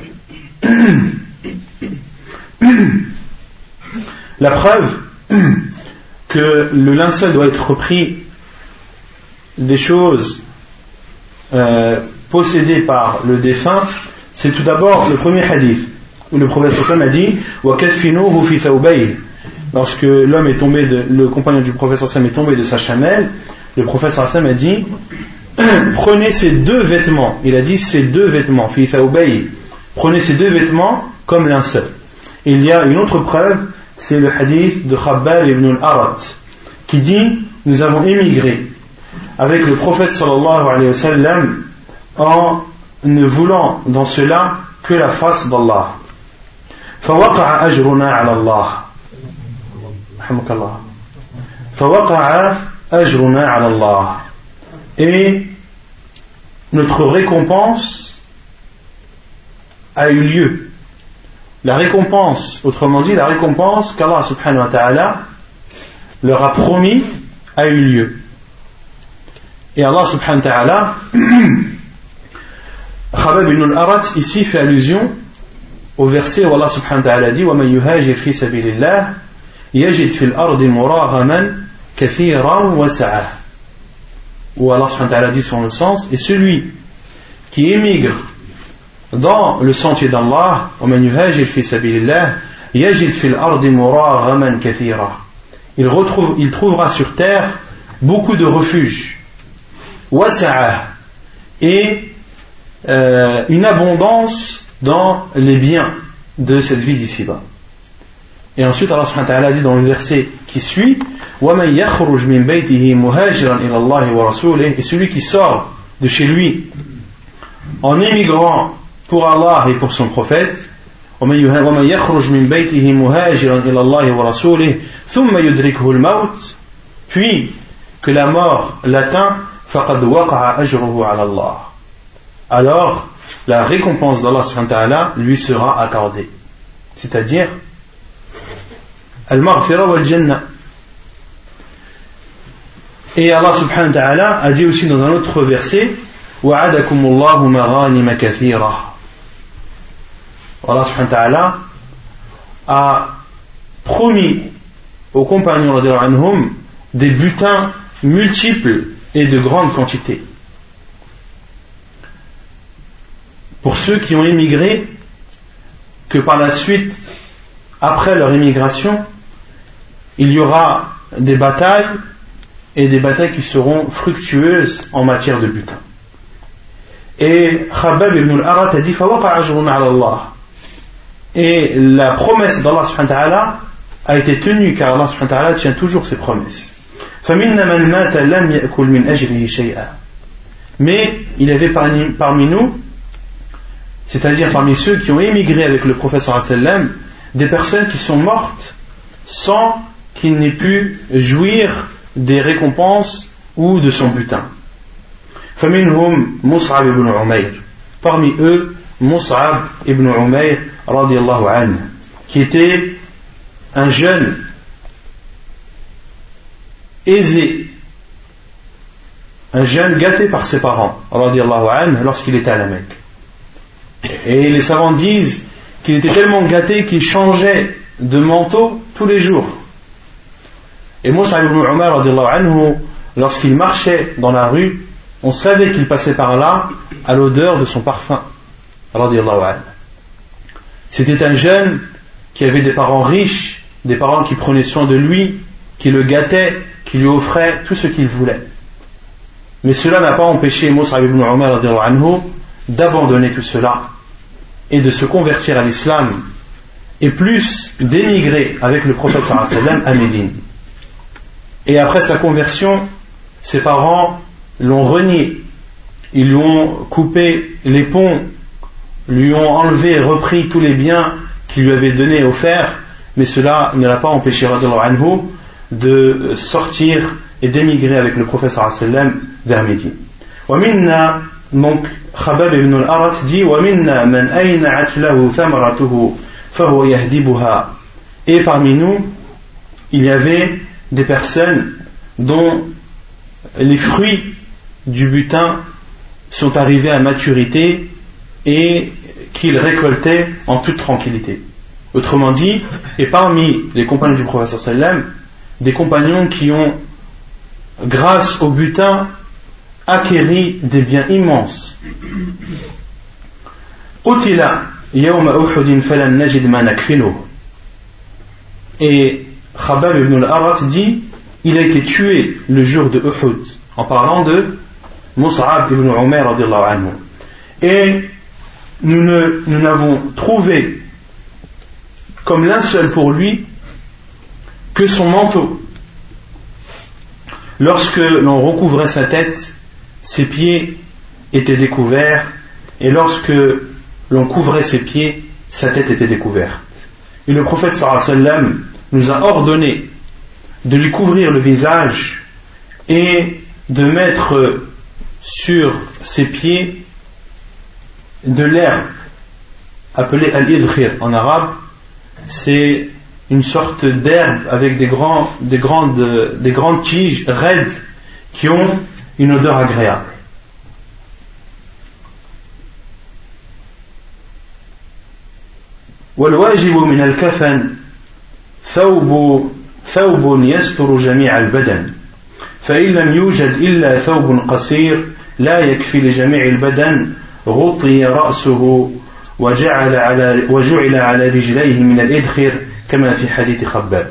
La preuve que le linceul doit être repris des choses possédées par le défunt, c'est tout d'abord le premier hadith où le prophète sallallahu alayhi wa sallam a dit وَكَفِّنُوهُ فِي ثَوْبَيْهِ. Lorsque le compagnon du prophète sallallahu alayhi wa sallam est tombé de sa chamelle, le prophète sallallahu alayhi wa sallam a dit prenez ces deux vêtements. Il a dit ces deux vêtements, fi thawbayhi. Prenez ces deux vêtements comme linceul. Il y a une autre preuve, c'est le hadith de Khabbab ibn al-Arat qui dit nous avons émigré avec le prophète sallallahu alayhi wa sallam en ne voulant dans cela que la face d'Allah. فوقع أجرنا على الله. رحمك الله. فوقع أجرنا على الله. Et notre récompense a eu lieu. La récompense, autrement dit, la récompense qu'Allah subhanahu wa ta'ala leur a promis a eu lieu. Et Allah subhanahu wa ta'ala, Khabbab ibn al-Arat ici fait allusion au verset où Allah subhanahu wa ta'ala dit وَمَنْ يُهَاجِرْ فِي سَبِيلِ اللَّهِ يَجِدْ فِي الْأَرْضِ مُرَاغَمًا كَثِيرًا وَسَعًا. Où Allah subhanahu wa ta'ala dit sur le sens, et celui qui émigre dans le sentier d'Allah وَمَنْ يُهَاجِرْ فِي سَبِيلِ اللَّهِ يَجِدْ فِي الْأَرْضِ مُرَاغَمًا كَثِيرًا. Il trouvera sur terre beaucoup de refuges وَسَعًا et une abondance dans les biens de cette vie d'ici-bas. Et ensuite Allah subhanahu wa ta'ala dit dans le verset qui suit وَمَنْ يَخْرُجْ مِنْ بَيْتِهِ مُهَاجِرًا إِلَى اللَّهِ وَرَسُولِهِ. Et celui qui sort de chez lui en émigrant pour Allah et pour son prophète وَمَنْ يَخْرُجْ مِنْ بَيْتِهِ مُهَاجِرًا إِلَى اللَّهِ وَرَسُولِهِ ثُمَّ يُدْرِكْهُ الْمَوْتِ, puis que la mort l'atteint فَقَدْ وَقَعَ أَجْرُهُ عَلَى اللَّهِ. Alors la récompense d'Allah subhanahu wa ta'ala lui sera accordée, c'est-à-dire al-maghfira wal-jannah. Et Allah subhanahu wa ta'ala a dit aussi dans un autre verset وَعَدَكُمُ اللَّهُ مَغَانِمَ كَثِيرًا Allah subhanahu wa ta'ala a promis aux compagnons radiyallahu anhum des butins multiples et de grande quantité. Pour ceux qui ont émigré, que par la suite, après leur émigration, il y aura des batailles et des batailles qui seront fructueuses en matière de butin. Et Khabbab ibn al-Arat a dit فَوَقَعَ أَجْرٌ عَلَى اللَّهِ. Et la promesse d'Allah subhanahu wa ta'ala a été tenue, car Allah subhanahu wa ta'ala tient toujours ses promesses. فَمِنَّ مَنْ مَاتَ لَمْ يَأْكُلْ مِنْ أَجْرِهِ شَيْئًا. Mais il y avait parmi nous, c'est-à-dire parmi ceux qui ont émigré avec le prophète sallallahu alayhi wa sallam, des personnes qui sont mortes sans qu'il n'ait pu jouir des récompenses ou de son butin. فَمِنْهُمْ مُصْعَبْ ibn Umayr. Parmi eux, Mus'ab ibn Umayr radiyallahu anhu, qui était un jeune aisé, un jeune gâté par ses parents radiyallahu anhu lorsqu'il était à la Mecque. Et les savants disent qu'il était tellement gâté qu'il changeait de manteau tous les jours. Et Mus'ab ibn Umayr radiyallahu anhu, lorsqu'il marchait dans la rue, on savait qu'il passait par là à l'odeur de son parfum radiyallahu anhu. C'était un jeune qui avait des parents riches, des parents qui prenaient soin de lui, qui le gâtaient, qui lui offraient tout ce qu'il voulait. Mais cela n'a pas empêché Mus'ab ibn Umayr radiyallahu anhu d'abandonner tout cela et de se convertir à l'islam, et plus d'émigrer avec le prophète sallallahu alayhi wa sallam à Médine. Et après sa conversion, ses parents l'ont renié, ils lui ont coupé les ponts, lui ont enlevé et repris tous les biens qu'il lui avait donnés et offerts, mais cela ne l'a pas empêché radiyallahu anhu de sortir et d'émigrer avec le prophète sallallahu alayhi wa sallam vers Médine. ومنا donc Khabbab ibn al-Arat dit ومنا من أينعت له ثمرته فهو يهدبها. Et parmi nous il y avait des personnes dont les fruits du butin sont arrivés à maturité et qu'ils récoltaient en toute tranquillité. Autrement dit, et parmi les compagnons du prophète sallallahu alayhi wa sallam, des compagnons qui ont, grâce au butin, acquéri des biens immenses. Utila yawma Uhud falam najid ma nakfiluh. Et Khabbab ibn al-Arat dit, il a été tué le jour de Uhud, en parlant de Mus'ab ibn Umayr radiyallahu anhu. Et nous n'avons trouvé comme linceul pour lui que son manteau. Lorsque l'on recouvrait sa tête, ses pieds étaient découverts, et lorsque l'on couvrait ses pieds, sa tête était découverte. Et le prophète sallallahu alayhi wa sallam nous a ordonné de lui couvrir le visage et de mettre sur ses pieds de l'herbe appelée al-idkhir en arabe. C'est une sorte d'herbe avec des grandes tiges raides qui ont une odeur agréable. والواجب من الكفن ثوب يستر جميع البدن فإن لم يوجد إلا ثوب قصير لا يكفي لجميع البدن غطي رأسه وجعل على رجليه من الإدخر كما في حديث خباب.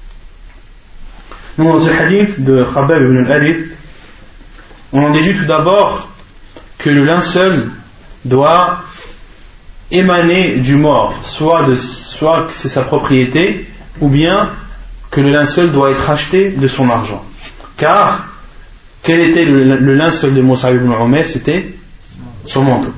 Dans ce hadith de Khabbab ibn al-Harith, on en déduit tout d'abord que le linceul doit émaner du mort, soit que c'est sa propriété, ou bien que le linceul doit être acheté de son argent. Car quel était le linceul de Mus'ab ibn Umayr? C'était son manteau.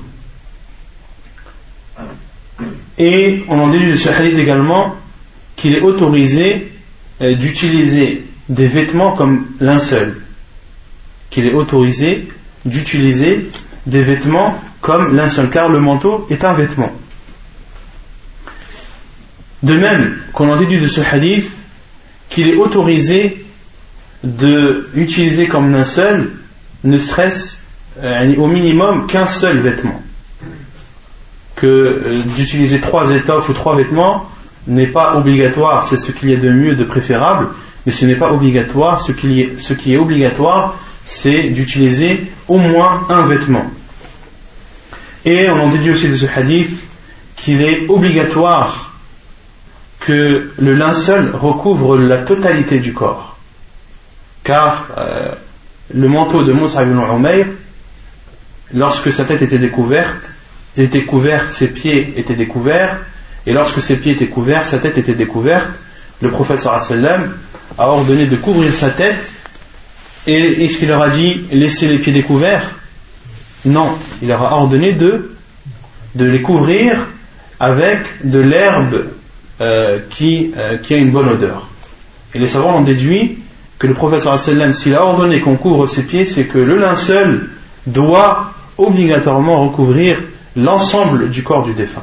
Et on en déduit de ce hadith également qu'il est autorisé d'utiliser des vêtements comme linceul. Qu'il est autorisé d'utiliser des vêtements comme linceul, car le manteau est un vêtement. De même qu'on en déduit de ce hadith qu'il est autorisé d'utiliser comme linceul ne serait-ce au minimum qu'un seul vêtement. que d'utiliser 3 étoffes ou 3 vêtements n'est pas obligatoire, c'est ce qu'il y a de mieux, de préférable, mais ce n'est pas obligatoire. Ce qui est obligatoire, c'est d'utiliser au moins un vêtement. Et on en déduit aussi de ce hadith qu'il est obligatoire que le linceul recouvre la totalité du corps, car le manteau de Mus'ab ibn Umayr, lorsque sa tête était découverte, ses pieds étaient découverts, et lorsque ses pieds étaient couverts, sa tête était découverte. Le prophète sallallahu alayhi wa sallam a ordonné de couvrir sa tête. Et est-ce qu'il leur a dit laissez les pieds découverts? Non, il leur a ordonné de les couvrir avec de l'herbe qui a une bonne odeur. Et les savants ont déduit que le prophète sallallahu alayhi wa sallam, s'il a ordonné qu'on couvre ses pieds, c'est que le linceul doit obligatoirement recouvrir l'ensemble du corps du défunt.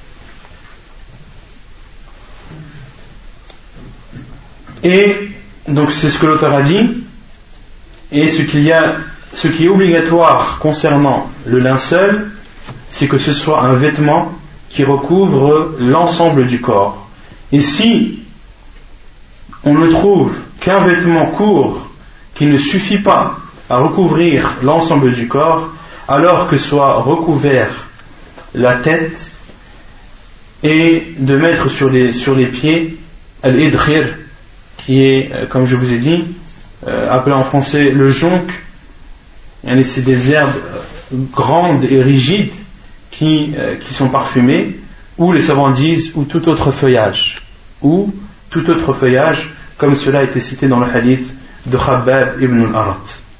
Et donc c'est ce que l'auteur a dit. Et ce qui est obligatoire concernant le linceul, c'est que ce soit un vêtement qui recouvre l'ensemble du corps. Et si on ne trouve qu'un vêtement court qui ne suffit pas à recouvrir l'ensemble du corps, alors que soit recouvert la tête, et de mettre sur les pieds al-idkhir, qui est, comme je vous ai dit, appelé en français le jonc. C'est des herbes grandes et rigides qui sont parfumées, ou les savants disent ou tout autre feuillage, comme cela a été cité dans le hadith de Khabbab ibn al-Arat.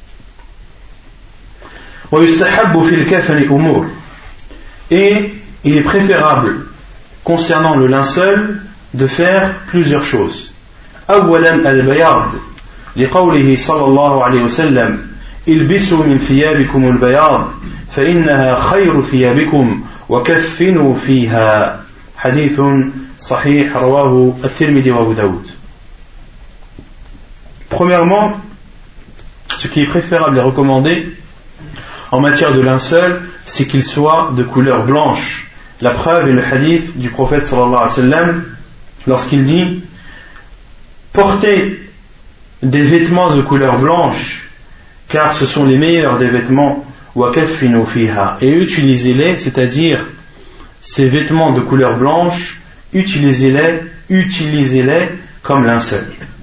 Et il est préférable concernant le linceul de faire plusieurs choses. أولا البياض لقوله صلى الله عليه وسلم البسوا من ثيابكم البياض فإنها خير ثيابكم وكفنوا فيها حديث صحيح رواه الترمذي وأبو داود. Premièrement, ce qui est préférable et recommandé en matière de linceul, c'est qu'il soit de couleur blanche. La preuve est le hadith du prophète sallallahu alayhi wa sallam lorsqu'il dit: portez des vêtements de couleur blanche, car ce sont les meilleurs des vêtements, et utilisez-les, c'est-à-dire ces vêtements de couleur blanche, utilisez-les comme linceul.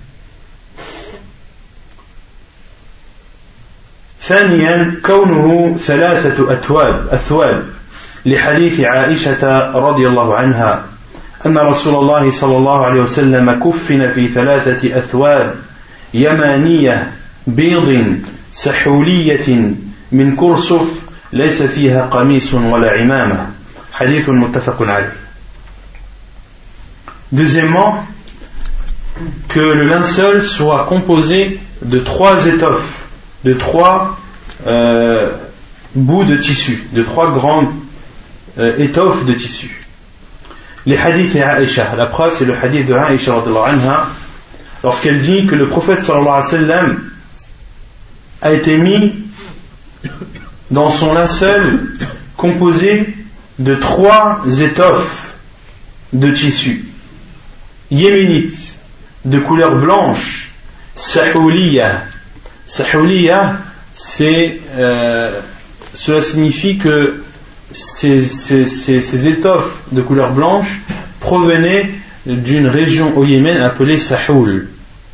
ثانيا كونه ثلاثة أثواب لحديث عائشة رضي الله عنها أن رسول الله صلى الله عليه وسلم كفن في 3 أثواب يمانية بيض سحولية من كرسف ليس فيها قميص ولا عمامة حديث متفق عليه. Deuxièmement, que le linceul soit composé de 3 étoffes, de 3 bouts de tissu, de 3 grandes étoffes de tissu. Les hadiths et Aïcha, la preuve c'est le hadith de Aïcha radhiyallahu anha, lorsqu'elle dit que le prophète sallallahu alayhi wa sallam a été mis dans son linceul composé de 3 étoffes de tissu yéménite de couleur blanche, sahouliya. Sahouliya, cela signifie que ces étoffes de couleur blanche provenaient d'une région au Yémen appelée Sahoul.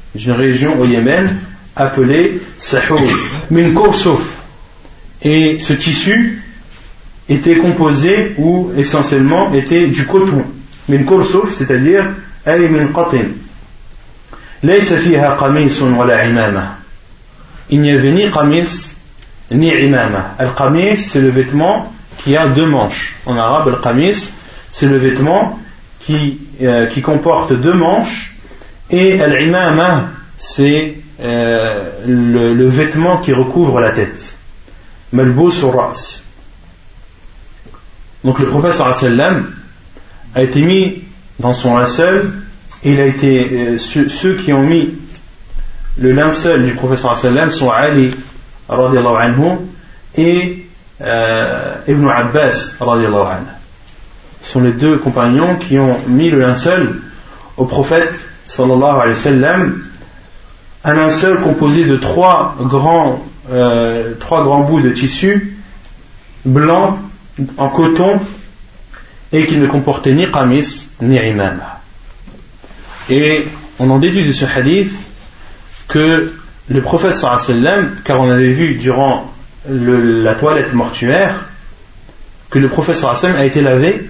Min kursuf. Et ce tissu était composé ou essentiellement était du coton. Min kursuf, c'est-à-dire ay min qatin. Laysa fiha qamisun wala imama. Il n'y avait ni qamis ni imama. Al-qamis, c'est le vêtement qui a 2 manches. En arabe, al-qamis, c'est le vêtement qui comporte 2 manches, et al-imama, c'est le vêtement qui recouvre la tête. Malbous ar-ra's. Donc le prophète sallallahu alayhi wa sallam a été mis dans son linceul, et il a été ceux qui ont mis le linceul du prophète sallallahu alayhi wa sallam sont Ali radiyallahu anhu et Ibn Abbas radiyallahu anhu. sont les deux compagnons qui ont mis le linceul au prophète sallallahu alayhi wa sallam, un linceul composé de trois grands bouts de tissu blanc en coton et qui ne comportait ni qamis ni imama. Et on en déduit de ce hadith que le prophète sallallahu alayhi wa sallam, car on avait vu durant la toilette mortuaire que le prophète sallallahu alayhi wa sallam a été lavé.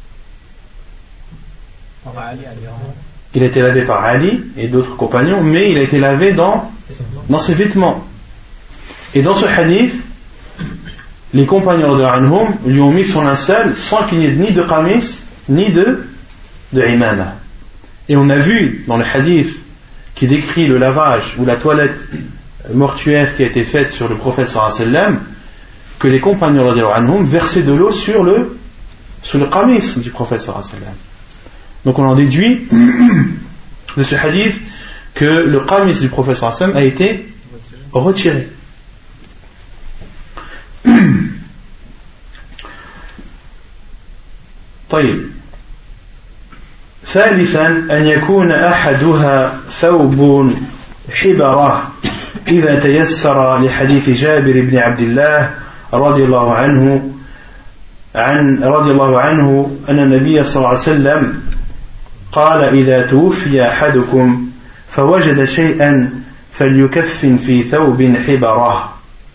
Il a été lavé par Ali et d'autres compagnons, mais il a été lavé dans ses vêtements. Et dans ce hadith, les compagnons de Anhum lui ont mis son linceul sans qu'il n'y ait ni de qamis ni de imama. Et on a vu dans le hadith qui décrit le lavage ou la toilette mortuaire qui a été faite sur le prophète sallallahu alayhi wa sallam, que les compagnons radiyallahu anhum versaient de l'eau sur le qamis du prophète sallallahu alayhi wa sallam. Donc on en déduit de ce hadith que le qamis du prophète sallallahu alayhi wa sallam a été retiré. طيب. ثالثا أن يكون أحدها ثوب حبرة إذا تيسر لحديث جابر بن عبد الله رضي الله عنه أن النبي صلى الله عليه وسلم قال إذا توفي أحدكم فوجد شيئا فليكفن في ثوب حبرة.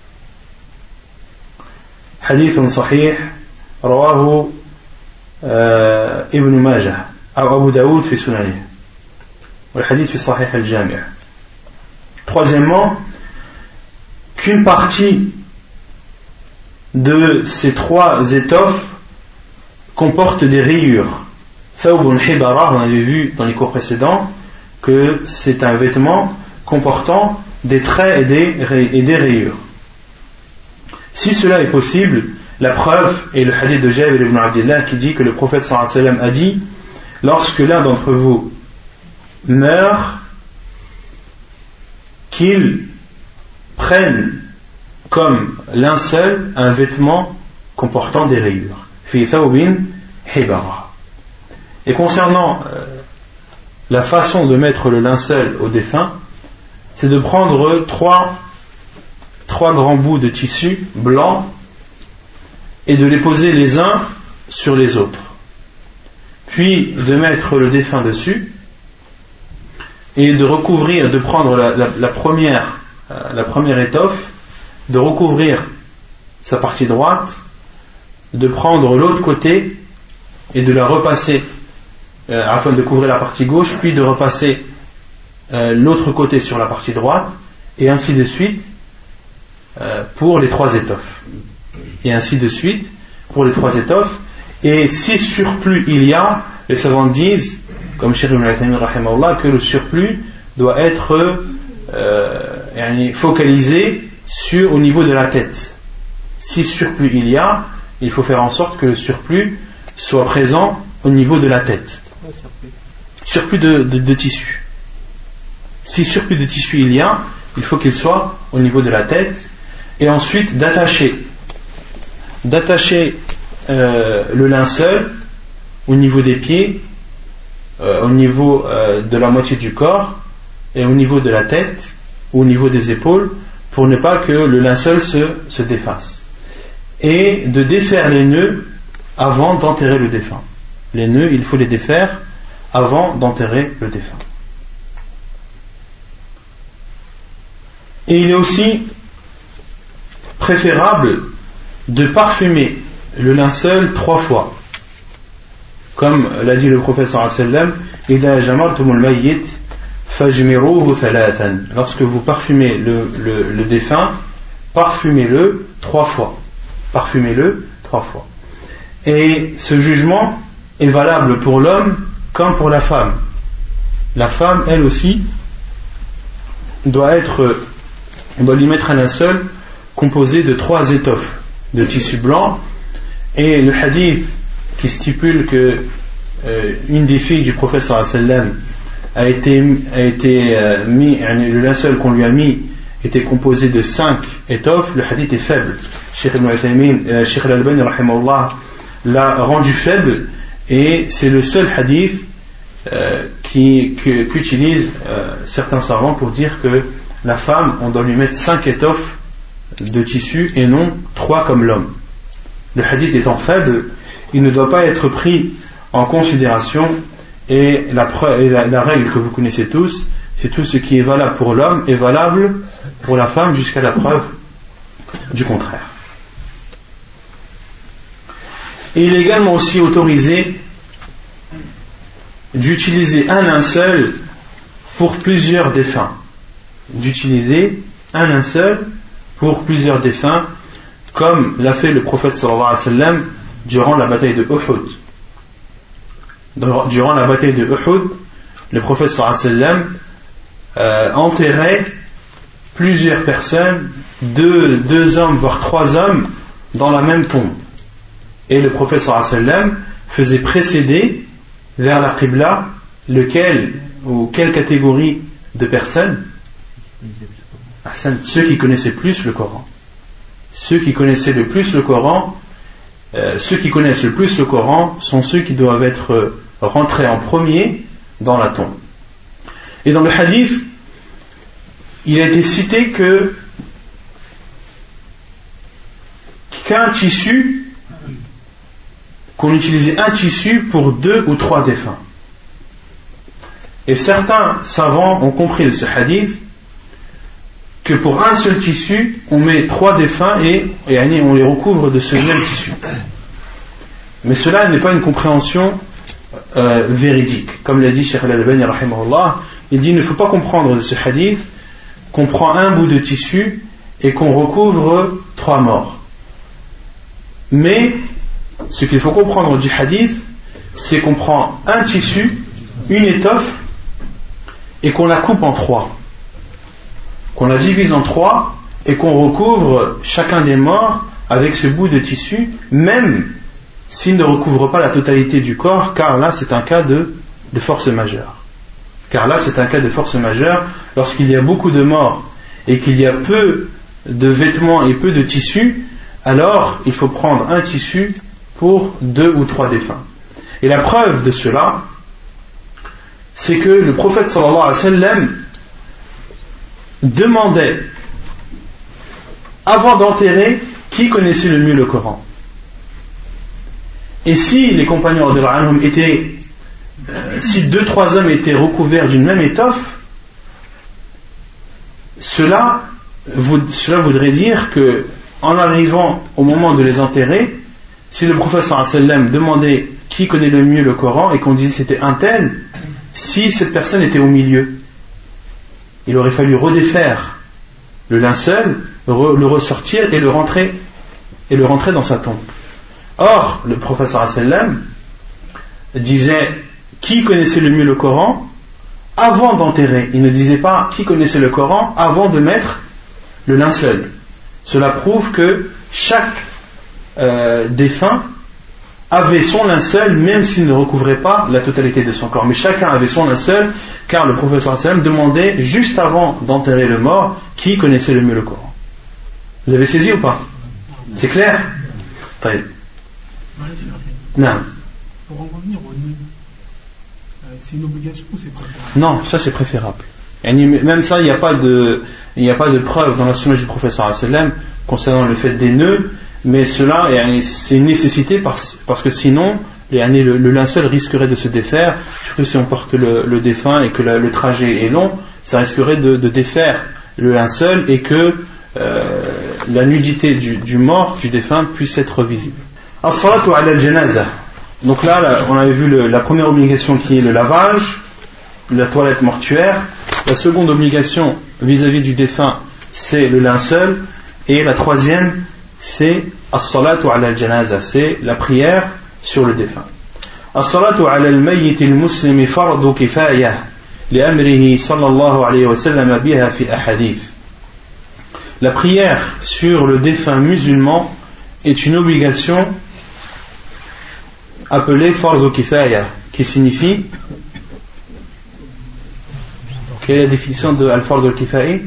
حديث صحيح رواه ابن ماجه أو أبو داود في سننه والحديث في صحيح الجامع. Troisièmement, qu'une partie de ces trois étoffes comporte des rayures. Thawbun hibara, on avait vu dans les cours précédents que c'est un vêtement comportant des traits et des rayures. Si cela est possible, la preuve est le hadith de Jabir ibn Abdillah qui dit que le prophète sallallahu alayhi wa sallam a dit: lorsque l'un d'entre vous meurt, qu'il prenne comme linceul un vêtement comportant des rayures. Fi thawbin hibara. Et concernant la façon de mettre le linceul au défunt, c'est de prendre trois grands bouts de tissu blanc et de les poser les uns sur les autres, puis de mettre le défunt dessus et de prendre la première étoffe, de recouvrir sa partie droite, de prendre l'autre côté et de la repasser afin de couvrir la partie gauche, puis de repasser l'autre côté sur la partie droite, et ainsi de suite pour les trois étoffes. Et ainsi de suite pour les trois étoffes. Et si surplus il y a, les savants disent, comme Cheikh Ibn Uthaymin rahimahullah, que le surplus doit être focalisé au niveau de la tête. Si surplus il y a, il faut faire en sorte que le surplus soit présent au niveau de la tête. Surplus de tissu. Si surplus de tissu il y a, il faut qu'il soit au niveau de la tête. Et ensuite d'attacher le linceul au niveau des pieds, au niveau de la moitié du corps et au niveau de la tête ou au niveau des épaules, pour ne pas que le linceul se défasse, et de défaire les nœuds avant d'enterrer le défunt. Les nœuds, il faut les défaire avant d'enterrer le défunt. Et il est aussi préférable de parfumer le linceul 3 fois, comme l'a dit le prophète sallallahu alayhi wa sallam: idha jamartumul mayyit fajmiruhu thalathan. Lorsque vous parfumez le défunt, parfumez-le 3 fois. Parfumez-le 3 fois. Et ce jugement est valable pour l'homme comme pour la femme. La femme, elle aussi, on doit lui mettre un linceul composé de 3 étoffes de tissu blanc. Et le hadith qui stipule que une des filles du prophète sallallahu alayhi wa sallam a été mis, le linceul qu'on lui a mis était composé de 5 étoffes, le hadith est faible. Cheikh Ibn Uthaymin, Cheikh Al-Albani rahimahullah l'a rendu faible, et c'est le seul hadith qu'utilisent certains savants pour dire que la femme, on doit lui mettre 5 étoffes de tissu et non 3 comme l'homme. Le hadith étant faible, il ne doit pas être pris en considération, et la règle que vous connaissez tous, c'est tout ce qui est valable pour l'homme est valable pour la femme jusqu'à la preuve du contraire. Et il est également aussi autorisé d'utiliser un linceul pour plusieurs défunts. D'utiliser un linceul pour plusieurs défunts, comme l'a fait le prophète sallallahu alayhi wa sallam durant la bataille de Uhud. Durant la bataille de Uhud, le prophète sallallahu alayhi wa sallam enterrait plusieurs personnes, deux hommes voire 3 hommes dans la même tombe. Et le prophète sallallahu alayhi wa sallam faisait précéder vers la Qibla quelle catégorie de personnes? Ceux qui connaissaient plus le Coran. Ceux qui connaissaient le plus le Coran, ceux qui connaissent le plus le Coran sont ceux qui doivent être rentrés en premier dans la tombe. Et dans le hadith, il a été cité qu'on utilisait un tissu pour 2 ou 3 défunts. Et certains savants ont compris de ce hadith que pour un seul tissu, on met 3 défunts et on les recouvre de ce même tissu. Mais cela n'est pas une compréhension véridique. Comme l'a dit Cheikh Al-Albani rahimahullah, il dit il ne faut pas comprendre de ce hadith qu'on prend un bout de tissu et qu'on recouvre 3 morts. Mais ce qu'il faut comprendre du hadith, c'est qu'on prend un tissu, une étoffe, et qu'on la coupe en 3. Qu'on la divise en 3 et qu'on recouvre chacun des morts avec ce bout de tissu, même s'il ne recouvre pas la totalité du corps, car là c'est un cas de force majeure. Car là c'est un cas de force majeure lorsqu'il y a beaucoup de morts et qu'il y a peu de vêtements et peu de tissu, alors il faut prendre un tissu pour 2 ou 3 défunts. Et la preuve de cela, c'est que le prophète sallallahu alayhi wa sallam demandait, avant d'enterrer, qui connaissait le mieux le Coran. Et si les compagnons si 2-3 hommes étaient recouverts d'une même étoffe, cela voudrait dire que, en arrivant au moment de les enterrer, si le prophète sallallahu alayhi wa sallam demandait qui connaît le mieux le Coran et qu'on disait c'était un tel, si cette personne était au milieu, il aurait fallu redéfaire le linceul, le ressortir et le rentrer dans sa tombe. Or, le prophète sallallahu alayhi wa sallam disait qui connaissait le mieux le Coran avant d'enterrer. Il ne disait pas qui connaissait le Coran avant de mettre le linceul. Cela prouve que chaque défunt avait son linceul, même s'il ne recouvrait pas la totalité de son corps. Mais chacun avait son linceul, car le prophète sallallahu alayhi wa sallam demandait, juste avant d'enterrer le mort, qui connaissait le mieux le Coran. Vous avez saisi ou pas? C'est clair? Non. Pour en revenir au nid, c'est une obligation ou c'est préférable? Non, ça c'est préférable. Même ça, il n'y a pas de preuve dans la sunna du prophète sallallahu alayhi wa sallam concernant le fait des nœuds, mais cela, c'est une nécessité parce que sinon, le linceul risquerait de se défaire, surtout si on porte le défunt et que le trajet est long, ça risquerait de défaire le linceul et que la nudité du mort, du défunt, puisse être visible. As-salatu ala al-janaza. Donc là, on avait vu la première obligation qui est le lavage, la toilette mortuaire. La seconde obligation vis-à-vis du défunt, c'est le linceul. Et la troisième, c'est as-salatu ala al-janaza, c'est la prière sur le défunt. As-salatu ala al-mayyit al-muslimi fardu kifaya li'amrihi sallallahu alayhi wa sallam biha fi ahadith. La prière sur le défunt musulman est une obligation appelée fardu kifaya, qui signifie, quelle est la définition de al-fardu al-kifaya?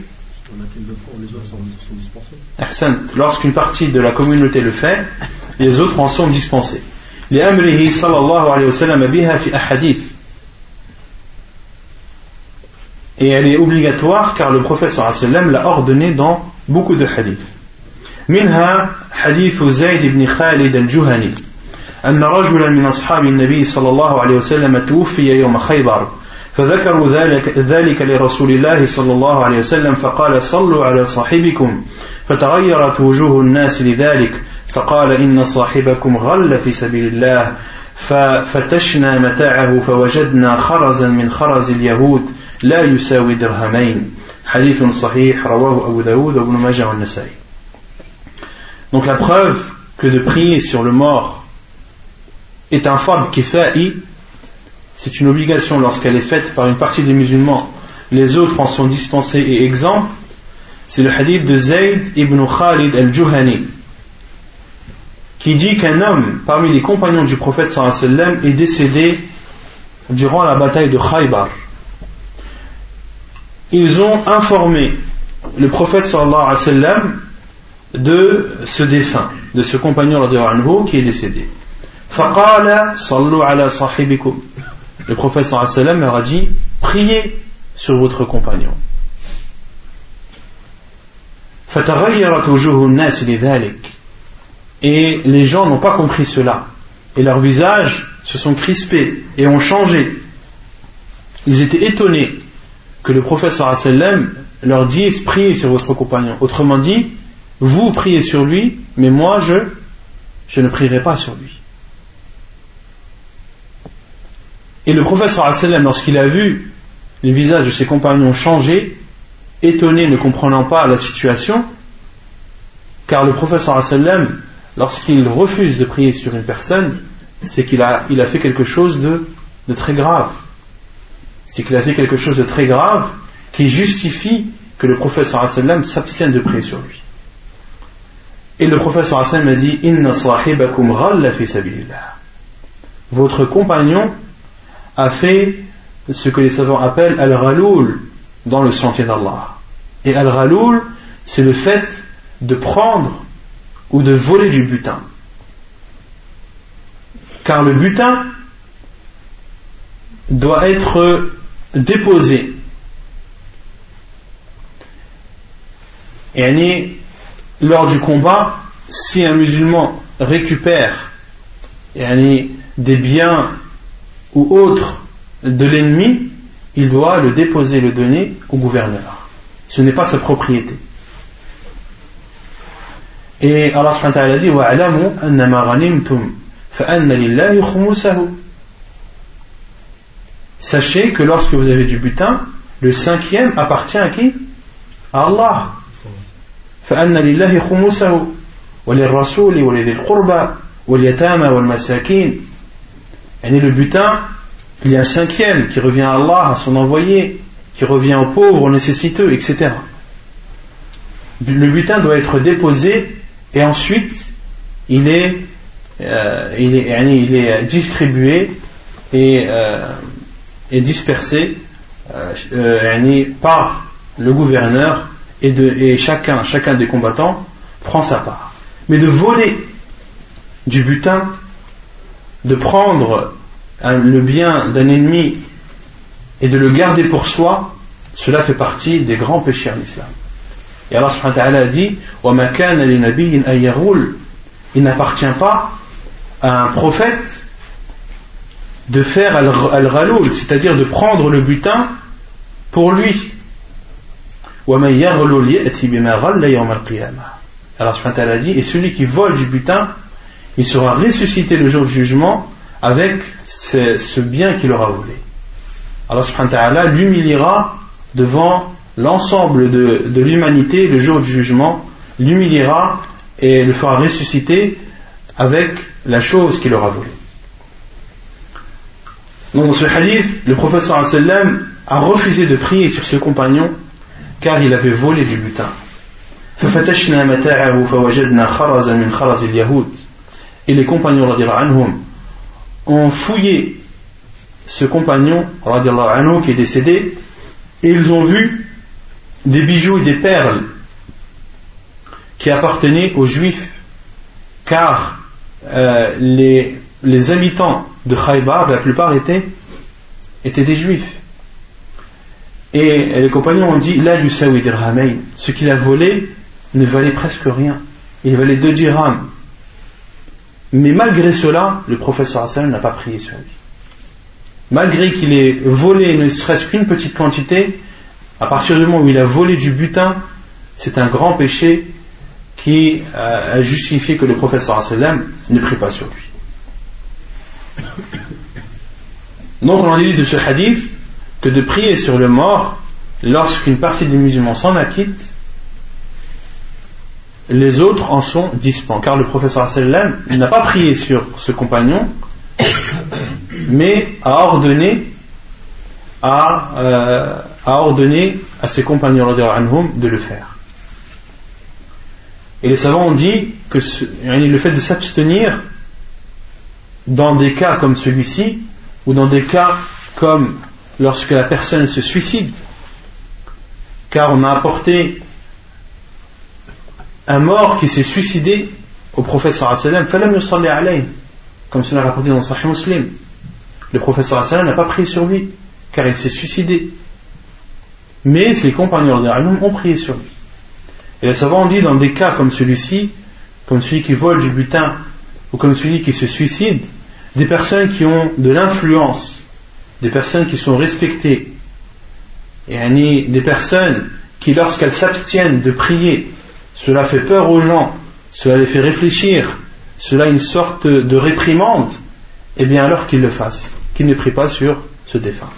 Lorsqu'une partie de la communauté le fait, les autres en sont dispensés. لأمره صلى الله عليه وسلم بها في أحاديث. Et elle est obligatoire car le prophète صلى الله عليه وسلم l'a ordonné dans beaucoup de hadiths. منها حديث زيد بن خالد الجهني أن رجلا من أصحاب النبي صلى الله عليه وسلم توفي يوم خيبر فذكروا ذلك لرسول الله صلى الله عليه وسلم فقال صلوا على صاحبكم فتغيرت وجوه الناس لذلك فقال إن صاحبكم غل في سبيل الله ففتشنا متاعه فوجدنا خرزا من خرز اليهود لا يساوي درهمين حديث صحيح رواه أبو داود وابن ماجه والنسائي. Donc la preuve que de prier sur le mort est un fard kifa'i, c'est une obligation lorsqu'elle est faite par une partie des musulmans, les autres en sont dispensés et exempts, c'est le hadith de Zayd ibn Khalid al-Juhani qui dit qu'un homme parmi les compagnons du prophète sallallahu alayhi wa sallam est décédé durant la bataille de Khaybar. Ils ont informé le prophète sallallahu alayhi wa sallam de ce défunt, de ce compagnon radiyallahu anhu qui est décédé. فقال صلوا على صاحبكم. Le prophète sallallahu alayhi wa sallam leur a dit priez sur votre compagnon. فتغيرت وجوه الناس لذلك. Et les gens n'ont pas compris cela et leurs visages se sont crispés et ont changé. Ils étaient étonnés que le prophète sallallahu alayhi wa sallam leur dise priez sur votre compagnon. Autrement dit, vous priez sur lui, mais moi je ne prierai pas sur lui. Et le prophète sallallahu alayhi wa sallam, lorsqu'il a vu les visages de ses compagnons changer, étonné, ne comprenant pas la situation, car le prophète sallallahu alayhi wa sallam, lorsqu'il refuse de prier sur une personne, c'est qu'il a fait quelque chose de très grave. C'est qu'il a fait quelque chose de très grave qui justifie que le prophète sallallahu alayhi wa sallam s'abstienne de prier sur lui. Et le prophète sallallahu alayhi wa sallam a dit Inna sahibakum ghalla fi sabilillah. Votre compagnon a fait ce que les savants appellent al-ghaloul dans le sentier d'Allah. Et al-ghaloul, c'est le fait de prendre ou de voler du butin. Car le butin doit être déposé. Et lors du combat, si un musulman récupère des biens ou autres de l'ennemi, il doit le déposer, le donner au gouverneur. Ce n'est pas sa propriété. Et Allah subhanahu wa ta'ala dit وَاعْلَمُوا أَنَّمَا غَنِمْتُمْ فَأَنَّ لِلَّهِ خُمُسَهُ. Sachez que lorsque vous avez du butin, le cinquième appartient à qui? À Allah. فَأَنَّ لِلَّهِ خُمُسَهُ وَلِلرَّسُولِ وَلِذِي الْقُرْبَى وَالْيَتَامَى وَالْمَسَاكِينَ. Et le butin, il y a un cinquième qui revient à Allah, à son envoyé, qui revient aux pauvres, aux nécessiteux, etc. Le butin doit être déposé et ensuite il est distribué et dispersé par le gouverneur et chacun des combattants prend sa part. Mais de voler du butin, de prendre le bien d'un ennemi et de le garder pour soi, cela fait partie des grands péchés en islam. Et Allah subhanahu wa ta'ala a dit وَمَا كَانَ لِنَبِيٍّ أَن يَغُولَ. Il n'appartient pas à un prophète de faire al-ghaloul, c'est-à-dire de prendre le butin pour lui. وَمَن يَغْلُلْ يَأْتِ بِمَا غَلَّ يَوْمَ الْقِيَامَةِ. Allah subhanahu wa ta'ala a dit et celui qui vole du butin, il sera ressuscité le jour du jugement avec ce bien qu'il aura volé. Allah subhanahu wa ta'ala l'humiliera devant l'ensemble de l'humanité le jour du jugement, l'humiliera et le fera ressusciter avec la chose qu'il aura volée. Donc dans ce hadith, le prophète sallallahu alayhi wa sallam a refusé de prier sur ce compagnon car il avait volé du butin. فَفَتَشْنَا مَتَاعَهُ فَوَجَدْنَا خَرَزًا مِنْ خَرَزِ الْيَهُودِ. Et les compagnons radiyallahu anhum ont fouillé ce compagnon radiyallahu anhu qui est décédé et ils ont vu des bijoux et des perles qui appartenaient aux juifs car les les habitants de Khaybar, la plupart étaient des juifs. Et les compagnons ont dit la yusawi dirhamayn, ce qu'il a volé ne valait presque rien, il valait 2 dirhams. Mais malgré cela, le prophète sallallahu alayhi wa sallam n'a pas prié sur lui. Malgré qu'il ait volé ne serait-ce qu'une petite quantité, à partir du moment où il a volé du butin, c'est un grand péché qui a justifié que le prophète sallallahu alayhi wa sallam ne prie pas sur lui. Donc on en dit de ce hadith que de prier sur le mort lorsqu'une partie des musulmans s'en acquitte, les autres en sont dispens, car le prophète sallallahu alayhi wa sallam n'a pas prié sur ce compagnon, mais a ordonné à ses compagnons radhiyallahu de le faire. Et les savants ont dit que le fait de s'abstenir dans des cas comme celui-ci, ou dans des cas comme lorsque la personne se suicide, car on a apporté un mort qui s'est suicidé au prophète sallallahu alayhi wa sallam, falam yusalli alayhi, comme cela est rapporté dans Sahih Muslim. Le prophète sallallahu alayhi wa sallam n'a pas prié sur lui, car il s'est suicidé. Mais ses compagnons ont prié sur lui. Et les savants ont dit dans des cas comme celui-ci, comme celui qui vole du butin, ou comme celui qui se suicide, des personnes qui ont de l'influence, des personnes qui sont respectées, et des personnes qui, lorsqu'elles s'abstiennent de prier, cela fait peur aux gens, cela les fait réfléchir, cela est une sorte de réprimande, et bien alors qu'ils le fassent, qu'ils ne prient pas sur ce défunt.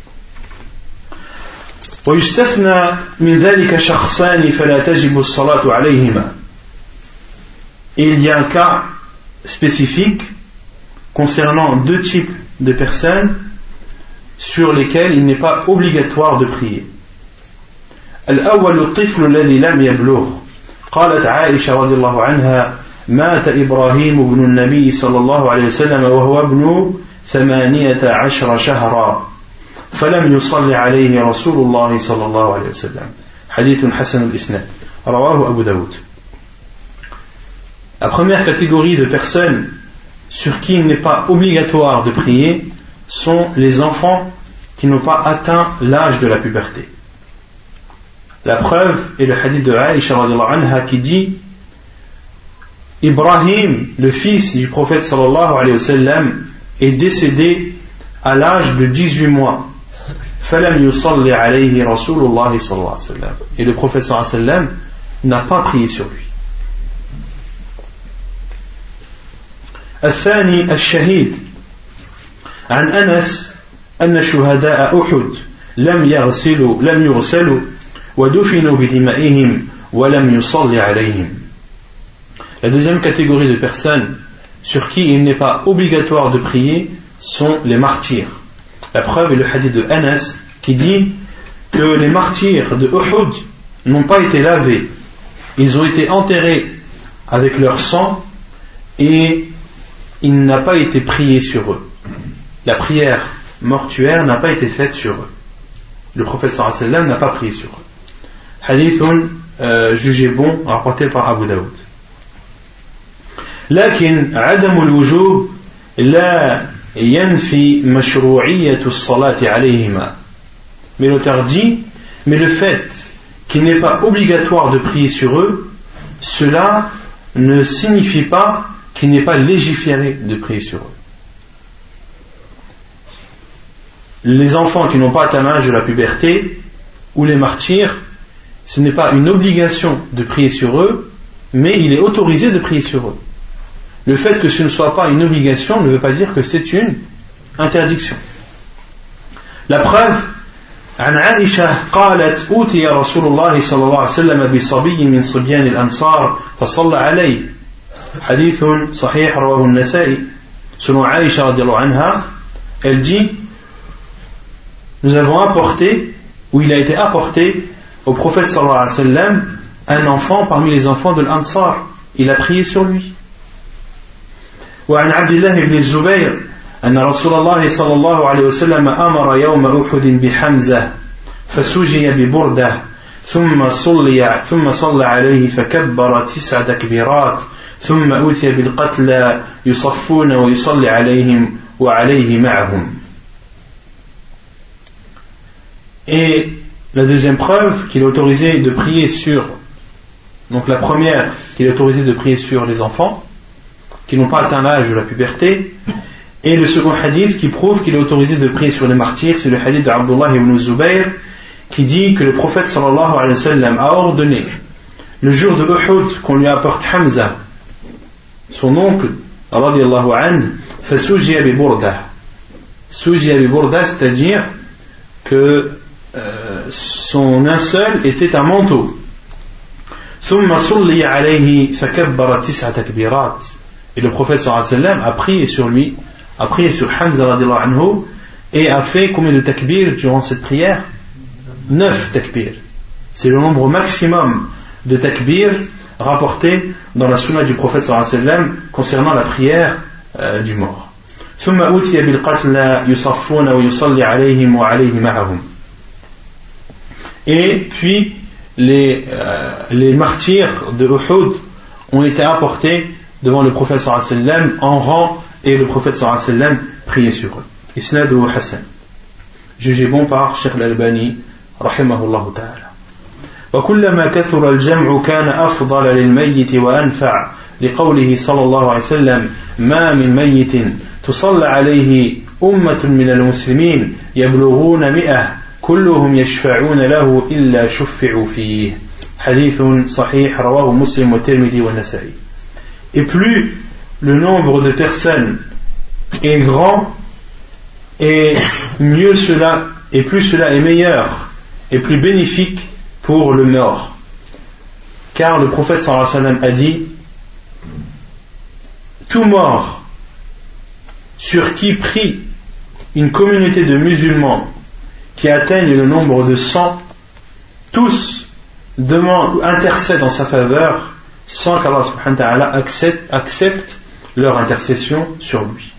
ويستثنى من ذلك شخصان فلا تجب الصلاة عليهما. Il y a un cas spécifique concernant 2 types de personnes sur lesquelles il n'est pas obligatoire de prier. الأول الطفل الذي لم يبلغ. قالت عائشة رضي الله عنها مات إبراهيم بن النبي صلى الله عليه وسلم وهو ابن 18 شهرا فلم يصلي عليه رسول الله صلى الله عليه وسلم. حديث حسن الإسناد رواه أبو داود. La première catégorie de personnes sur qui il n'est pas obligatoire de prier sont les enfants qui n'ont pas atteint l'âge de la puberté. La preuve est le hadith de Aïcha radhiyallahu anha qui dit Ibrahim, le fils du prophète sallallahu alayhi wa sallam, est décédé à l'âge de 18 mois. فَلَمْ يُصَلِّ عَلَيْهِ رَسُولُ اللَّهِ صَلَّى اللَّهُ عَلَيْهِ وسلم. Et le prophète sallallahu alayhi wa sallam n'a pas prié sur lui. الثاني الشهيد. عن أنس أن شهداء أحد لم يغسلوا ودفنوا بدمائهم ولم يصلي عليهم. La deuxième catégorie de personnes sur qui il n'est pas obligatoire de prier sont les martyrs. La preuve est le hadith de Anas qui dit que les martyrs de Uhud n'ont pas été lavés. Ils ont été enterrés avec leur sang et il n'a pas été prié sur eux. La prière mortuaire n'a pas été faite sur eux. Le prophète sallallahu alayhi wa sallam n'a pas prié sur eux. Hadithun jugé bon, rapporté par Abu Daoud. لكن عدم الوجوب لا ينفي مشروعية الصلاة عليهما. Mais l'auteur dit, mais le fait qu'il n'est pas obligatoire de prier sur eux, cela ne signifie pas qu'il n'est pas légiféré de prier sur eux. Les enfants qui n'ont pas atteint l'âge de la puberté ou les martyrs, ce n'est pas une obligation de prier sur eux, mais il est autorisé de prier sur eux. Le fait que ce ne soit pas une obligation ne veut pas dire que c'est une interdiction. La preuve, عن عائشة قالت أوتي رسول الله صلى الله عليه وسلم بصبي من صبيان الأنصار فصلى عليه. حديث صحيح رواه النسائي. Selon Aïcha radiallahu anha, elle dit nous avons apporté, ou il a été apporté au prophète sallallahu alayhi wa sallam un enfant parmi les enfants de l'Ansar. Il a prié sur lui. وعن عبد الله بن الزبير أن رسول الله صلى الله عليه وسلم أمر يوم أحد بحمزة فسجي ببردة ثم صلى عليه فكبر 9 تكبيرات ثم أوتي بالقتلى يصفون ويصلي عليهم وعليه معهم. Et la deuxième preuve qu'il est autorisé de prier sur, donc la première, qu'il est autorisé de prier sur les enfants qui n'ont pas atteint l'âge de la puberté, et le second hadith qui prouve qu'il est autorisé de prier sur les martyrs, c'est le hadith d'Abdullah ibn Zubayr qui dit que le prophète sallallahu alayhi wa sallam a ordonné le jour de Uhud qu'on lui apporte Hamza, son oncle, radiyallahu anhu, fasujiya bi burda. Sujiya bi burda, c'est-à-dire que son linceul était un manteau. ثم صلي عليه فكبر 9 تكبيرات. Et le prophète sallallahu alayhi wa sallam a prié sur lui, a prié sur Hamza radiyallahu anhu, et a fait combien de takbir durant cette prière? 9 takbir. C'est le nombre maximum de takbir rapporté dans la sunna du prophète sallallahu alayhi wa sallam concernant la prière du mort. ثم أوتي بالقتلى يصفون ويصلي عليهم وعليه معهم. Et puis les martyrs de Uhud ont été apportés devant le prophète sallallahu alayhi wa sallam en rang, et le prophète sallallahu alayhi wa sallam priait sur eux. Isnaduhu Hassan, jugé bon par Cheikh Al-Albani rahimahullah ta'ala. وكلما كثر الجمع كان أفضل للميت وأنفع لقوله صلى الله عليه وسلم ما من ميت تصلى عليه أمة من المسلمين يبلغون 100 كلهم يشفعون له إلا شفعوا فيه. حديث صحيح رواه مسلم والترمذي والنسائي. Et plus le nombre de personnes est grand, et mieux cela, et plus cela est meilleur et plus bénéfique pour le mort. Car le prophète sallallahu alayhi wa sallam a dit: tout mort sur qui prie une communauté de musulmans qui atteignent le nombre de 100, tous intercèdent en sa faveur sans qu'Allah subhanahu wa ta'ala accepte leur intercession sur lui.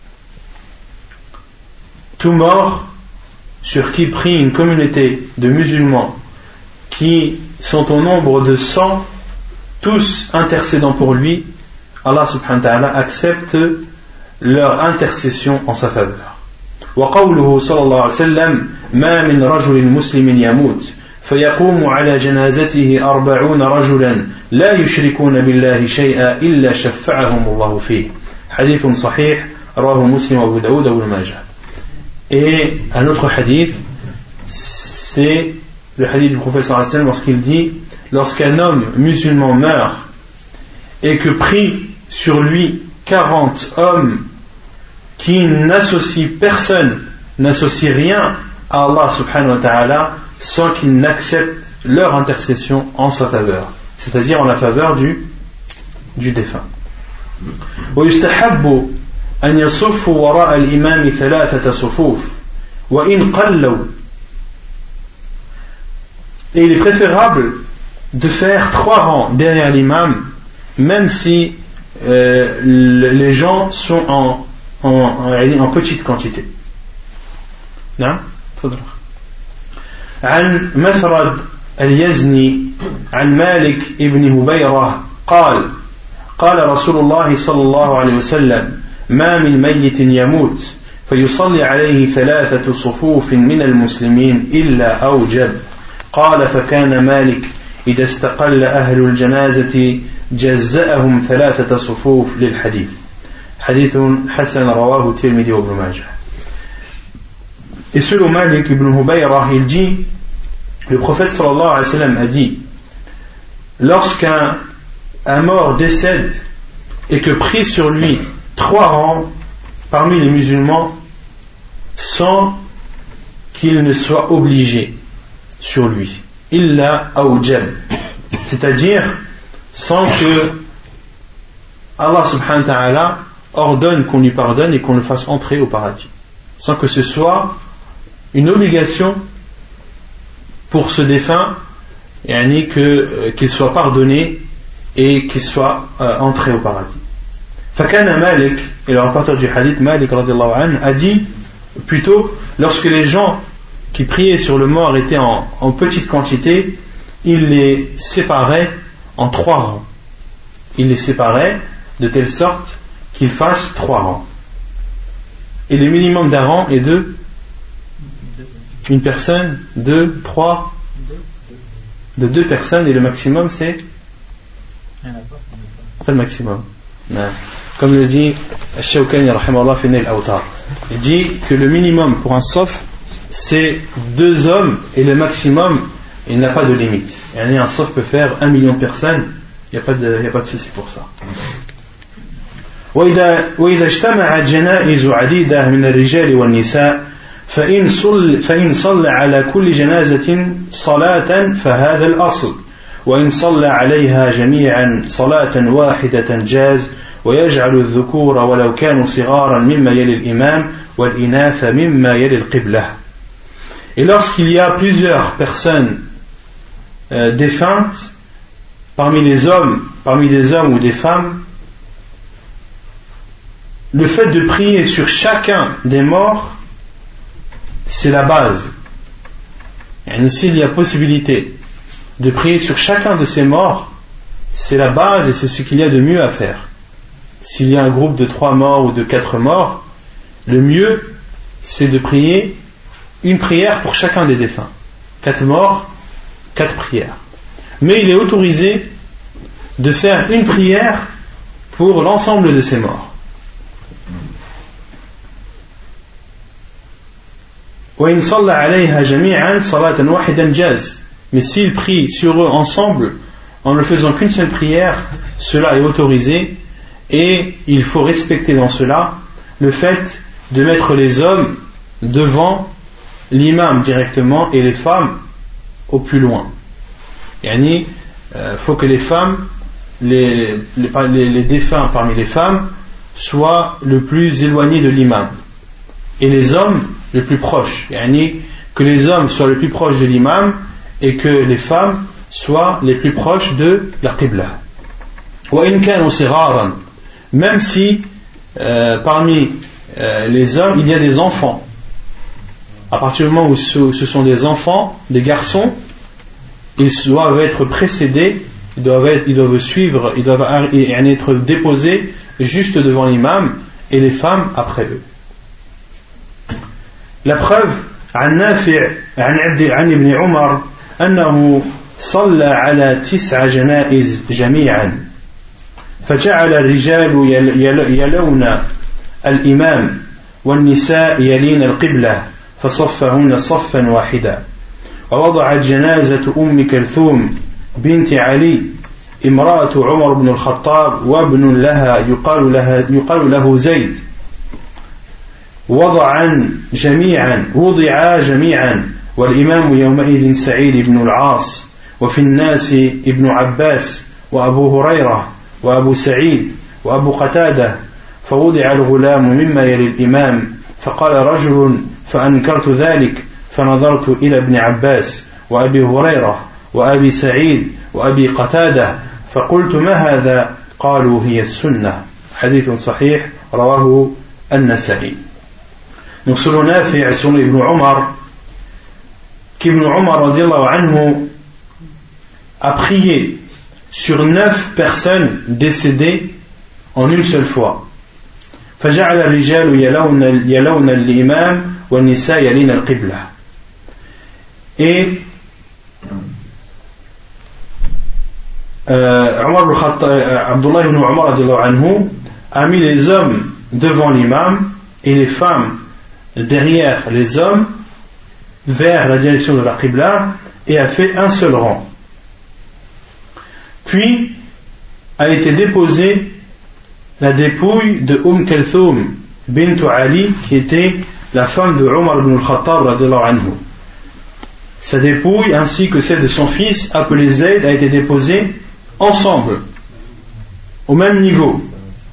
Tout mort sur qui prie une communauté de musulmans qui sont au nombre de 100, tous intercédant pour lui, Allah subhanahu wa ta'ala accepte leur intercession en sa faveur. وقوله صلى الله عليه وسلم ما من رجل مسلم يموت فيقوم على جنازته 40 رجلا لا يشركون بالله شيئا إلا شفعهم الله فيه. حديث صحيح رواه مسلم وأبو داود وابن ماجه. Et un autre hadith, c'est le hadith du prophète sallallahu alayhi wa sallam lorsqu'il dit: lorsqu'un homme musulman meurt et que prie sur lui 40 hommes qui n'associent personne, n'associent rien à Allah subhanahu wa ta'ala sans qu'ils n'acceptent leur intercession en sa faveur, c'est-à-dire en la faveur du défunt. ويستحب أن يصفوا وراء الإمام 3 صفوف وإن قلوا. Et il est préférable de faire 3 rangs derrière l'imam, même si les gens sont en petite quantité. نعم تفضل. عن مثرد اليزني عن مالك ابن هبيرة قال قال رسول الله صلى الله عليه وسلم ما من ميت يموت فيصلي عليه 3 صفوف من المسلمين إلا أوجب. قال فكان مالك إذا استقل أهل الجنازة جزأهم 3 صفوف للحديث. حديث حسن رواه الترمذي وابن ماجه. Et selon Malik ibn Hubayra, il dit, le prophète sallallahu alayhi wa sallam a dit: lorsqu'un mort décède et que prie sur lui 3 rangs parmi les musulmans sans qu'il ne soit obligé sur lui, illa awjab, c'est-à-dire sans que Allah subhanahu wa ta'ala ordonne qu'on lui pardonne et qu'on le fasse entrer au paradis, sans que ce soit une obligation pour ce défunt, qu'il soit pardonné et qu'il soit entré au paradis. Fakana Malik, et le rapporteur du hadith Malik radiyallahu anhu a dit plutôt, lorsque les gens qui priaient sur le mort étaient en petite quantité, il les séparait en 3 rangs. il les séparait de telle sorte qu'ils fassent 3 rangs. Et le minimum d'un rang est de une personne, 2, 3, de 2 personnes, et le maximum c'est pas le maximum. Non. Comme le dit Shawkani rahimahullah fi Nail Awtar, il dit que le minimum pour un saf c'est 2 hommes, et le maximum il n'a pas de limite. Et un saf peut faire 1 million de personnes, il n'y a pas de souci pour ça. وإذا اجتمعت جنائز عديدة من الرجال والنساء فإن صلى على كل جنازة صلاة فهذا الأصل، وإن صلى عليها جميعا صلاة واحدة جاز، ويجعل الذكور ولو كانوا صغارا مما يلي الإمام والإناث مما يلي القبلة. Et lorsqu'il y a plusieurs personnes défuntes parmi des hommes ou des femmes, le fait de prier sur chacun des morts, c'est la base. Et s'il y a possibilité de prier sur chacun de ces morts, c'est la base et c'est ce qu'il y a de mieux à faire. S'il y a un groupe de 3 morts ou de 4 morts, le mieux c'est de prier une prière pour chacun des défunts. 4 morts, 4 prières. Mais il est autorisé de faire une prière pour l'ensemble de ces morts. وإن صلى عليها جميعا صلاة واحدة جاز. Mais s'il prie sur eux ensemble en ne faisant qu'une seule prière, cela est autorisé, et il faut respecter dans cela le fait de mettre les hommes devant l'imam directement et les femmes au plus loin. Il faut que les femmes, les défunts parmi les femmes soient le plus éloignés de l'imam, et les hommes le plus proches, que les hommes soient le plus proches de l'imam et que les femmes soient les plus proches de la qibla. Même si parmi les hommes il y a des enfants, à partir du moment où ce sont des enfants, des garçons, ils doivent être précédés, ils doivent suivre, ils doivent être déposés juste devant l'imam, et les femmes après eux. La preuve عن نافع عن ابن عمر أنه صلى على 9 جنائز جميعا، فجعل الرجال يلون الإمام والنساء يلين القبلة فصفهن صفا واحدا، ووضعت جنازة أم كلثوم بنت علي امرأة عمر بن الخطاب وابن لها يقال له زيد، وضعا جميعا والإمام يومئذ سعيد بن العاص، وفي الناس ابن عباس وأبو هريرة وأبو سعيد وأبو قتادة، فوضع الغلام مما يلي الإمام، فقال رجل فأنكرت ذلك فنظرت إلى ابن عباس وأبي هريرة وأبي سعيد وأبي قتادة فقلت ما هذا؟ قالوا هي السنة. حديث صحيح رواه النسائي. Donc selon Nafi' et selon Ibn Omar, qu'Ibn Omar radiallahu anhu a prié sur 9 personnes décédées en une seule fois. فجعل الرجال يلون الإمام والنساء يلين القبلة. Et Abdullah ibn Umar radiallahu anhu a mis les hommes devant l'imam et les femmes derrière les hommes vers la direction de la Qibla, et a fait un seul rang. Puis a été déposée la dépouille de Kalthum bint Ali, qui était la femme de Omar ibn al-Khattab radiallahu anhu. Sa dépouille ainsi que celle de son fils appelé Zayd a été déposée ensemble au même niveau.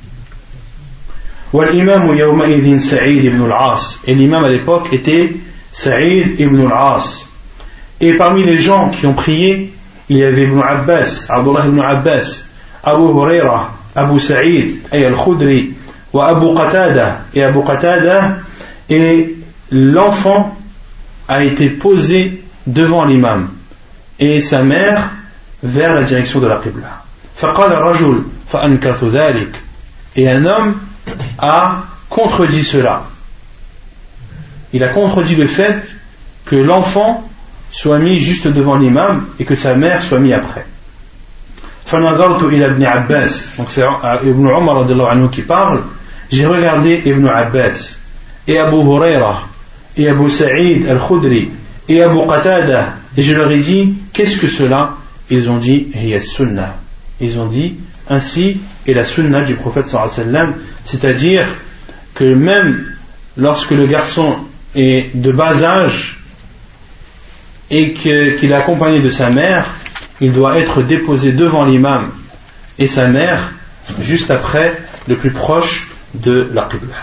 والإمام يومئذ سعيد بن العاص, et l'imam à l'époque était Sa'id ibn al-As. Et parmi les gens qui ont prié, il y avait Ibn Abbas, Abdullah ibn Abbas, Abu Huraira, Abu Sa'id et Al-Khudri, wa Abu Qatada et Abu Qatada, et l'enfant a été posé devant l'imam et sa mère vers la direction de la Qibla. فقال الرجل فأنكرت ذلك. Et un homme a contredit cela. Il a contredit le fait que l'enfant soit mis juste devant l'imam et que sa mère soit mise après. فنظرت إلى ابن عباس, donc c'est Ibn Umar radiallahu anhu qui parle. J'ai regardé Ibn Abbas et Abu Huraira et Abu Sa'id al-Khudri et Abu Qatada, et je leur ai dit, qu'est-ce que cela? Ils ont dit, hiya sunnah. Ils ont dit, ainsi est la sunnah du prophète sallallahu alayhi wa sallam, c'est-à-dire que même lorsque le garçon est de bas âge et qu'il est accompagné de sa mère, il doit être déposé devant l'imam et sa mère juste après, le plus proche de la qibla.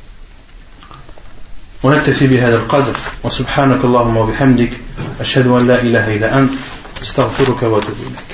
ونكتفي بهذا القدر وسبحانك اللهم وبحمدك أشهد أن لا إله إلا أنت أستغفرك وأتوب إليك.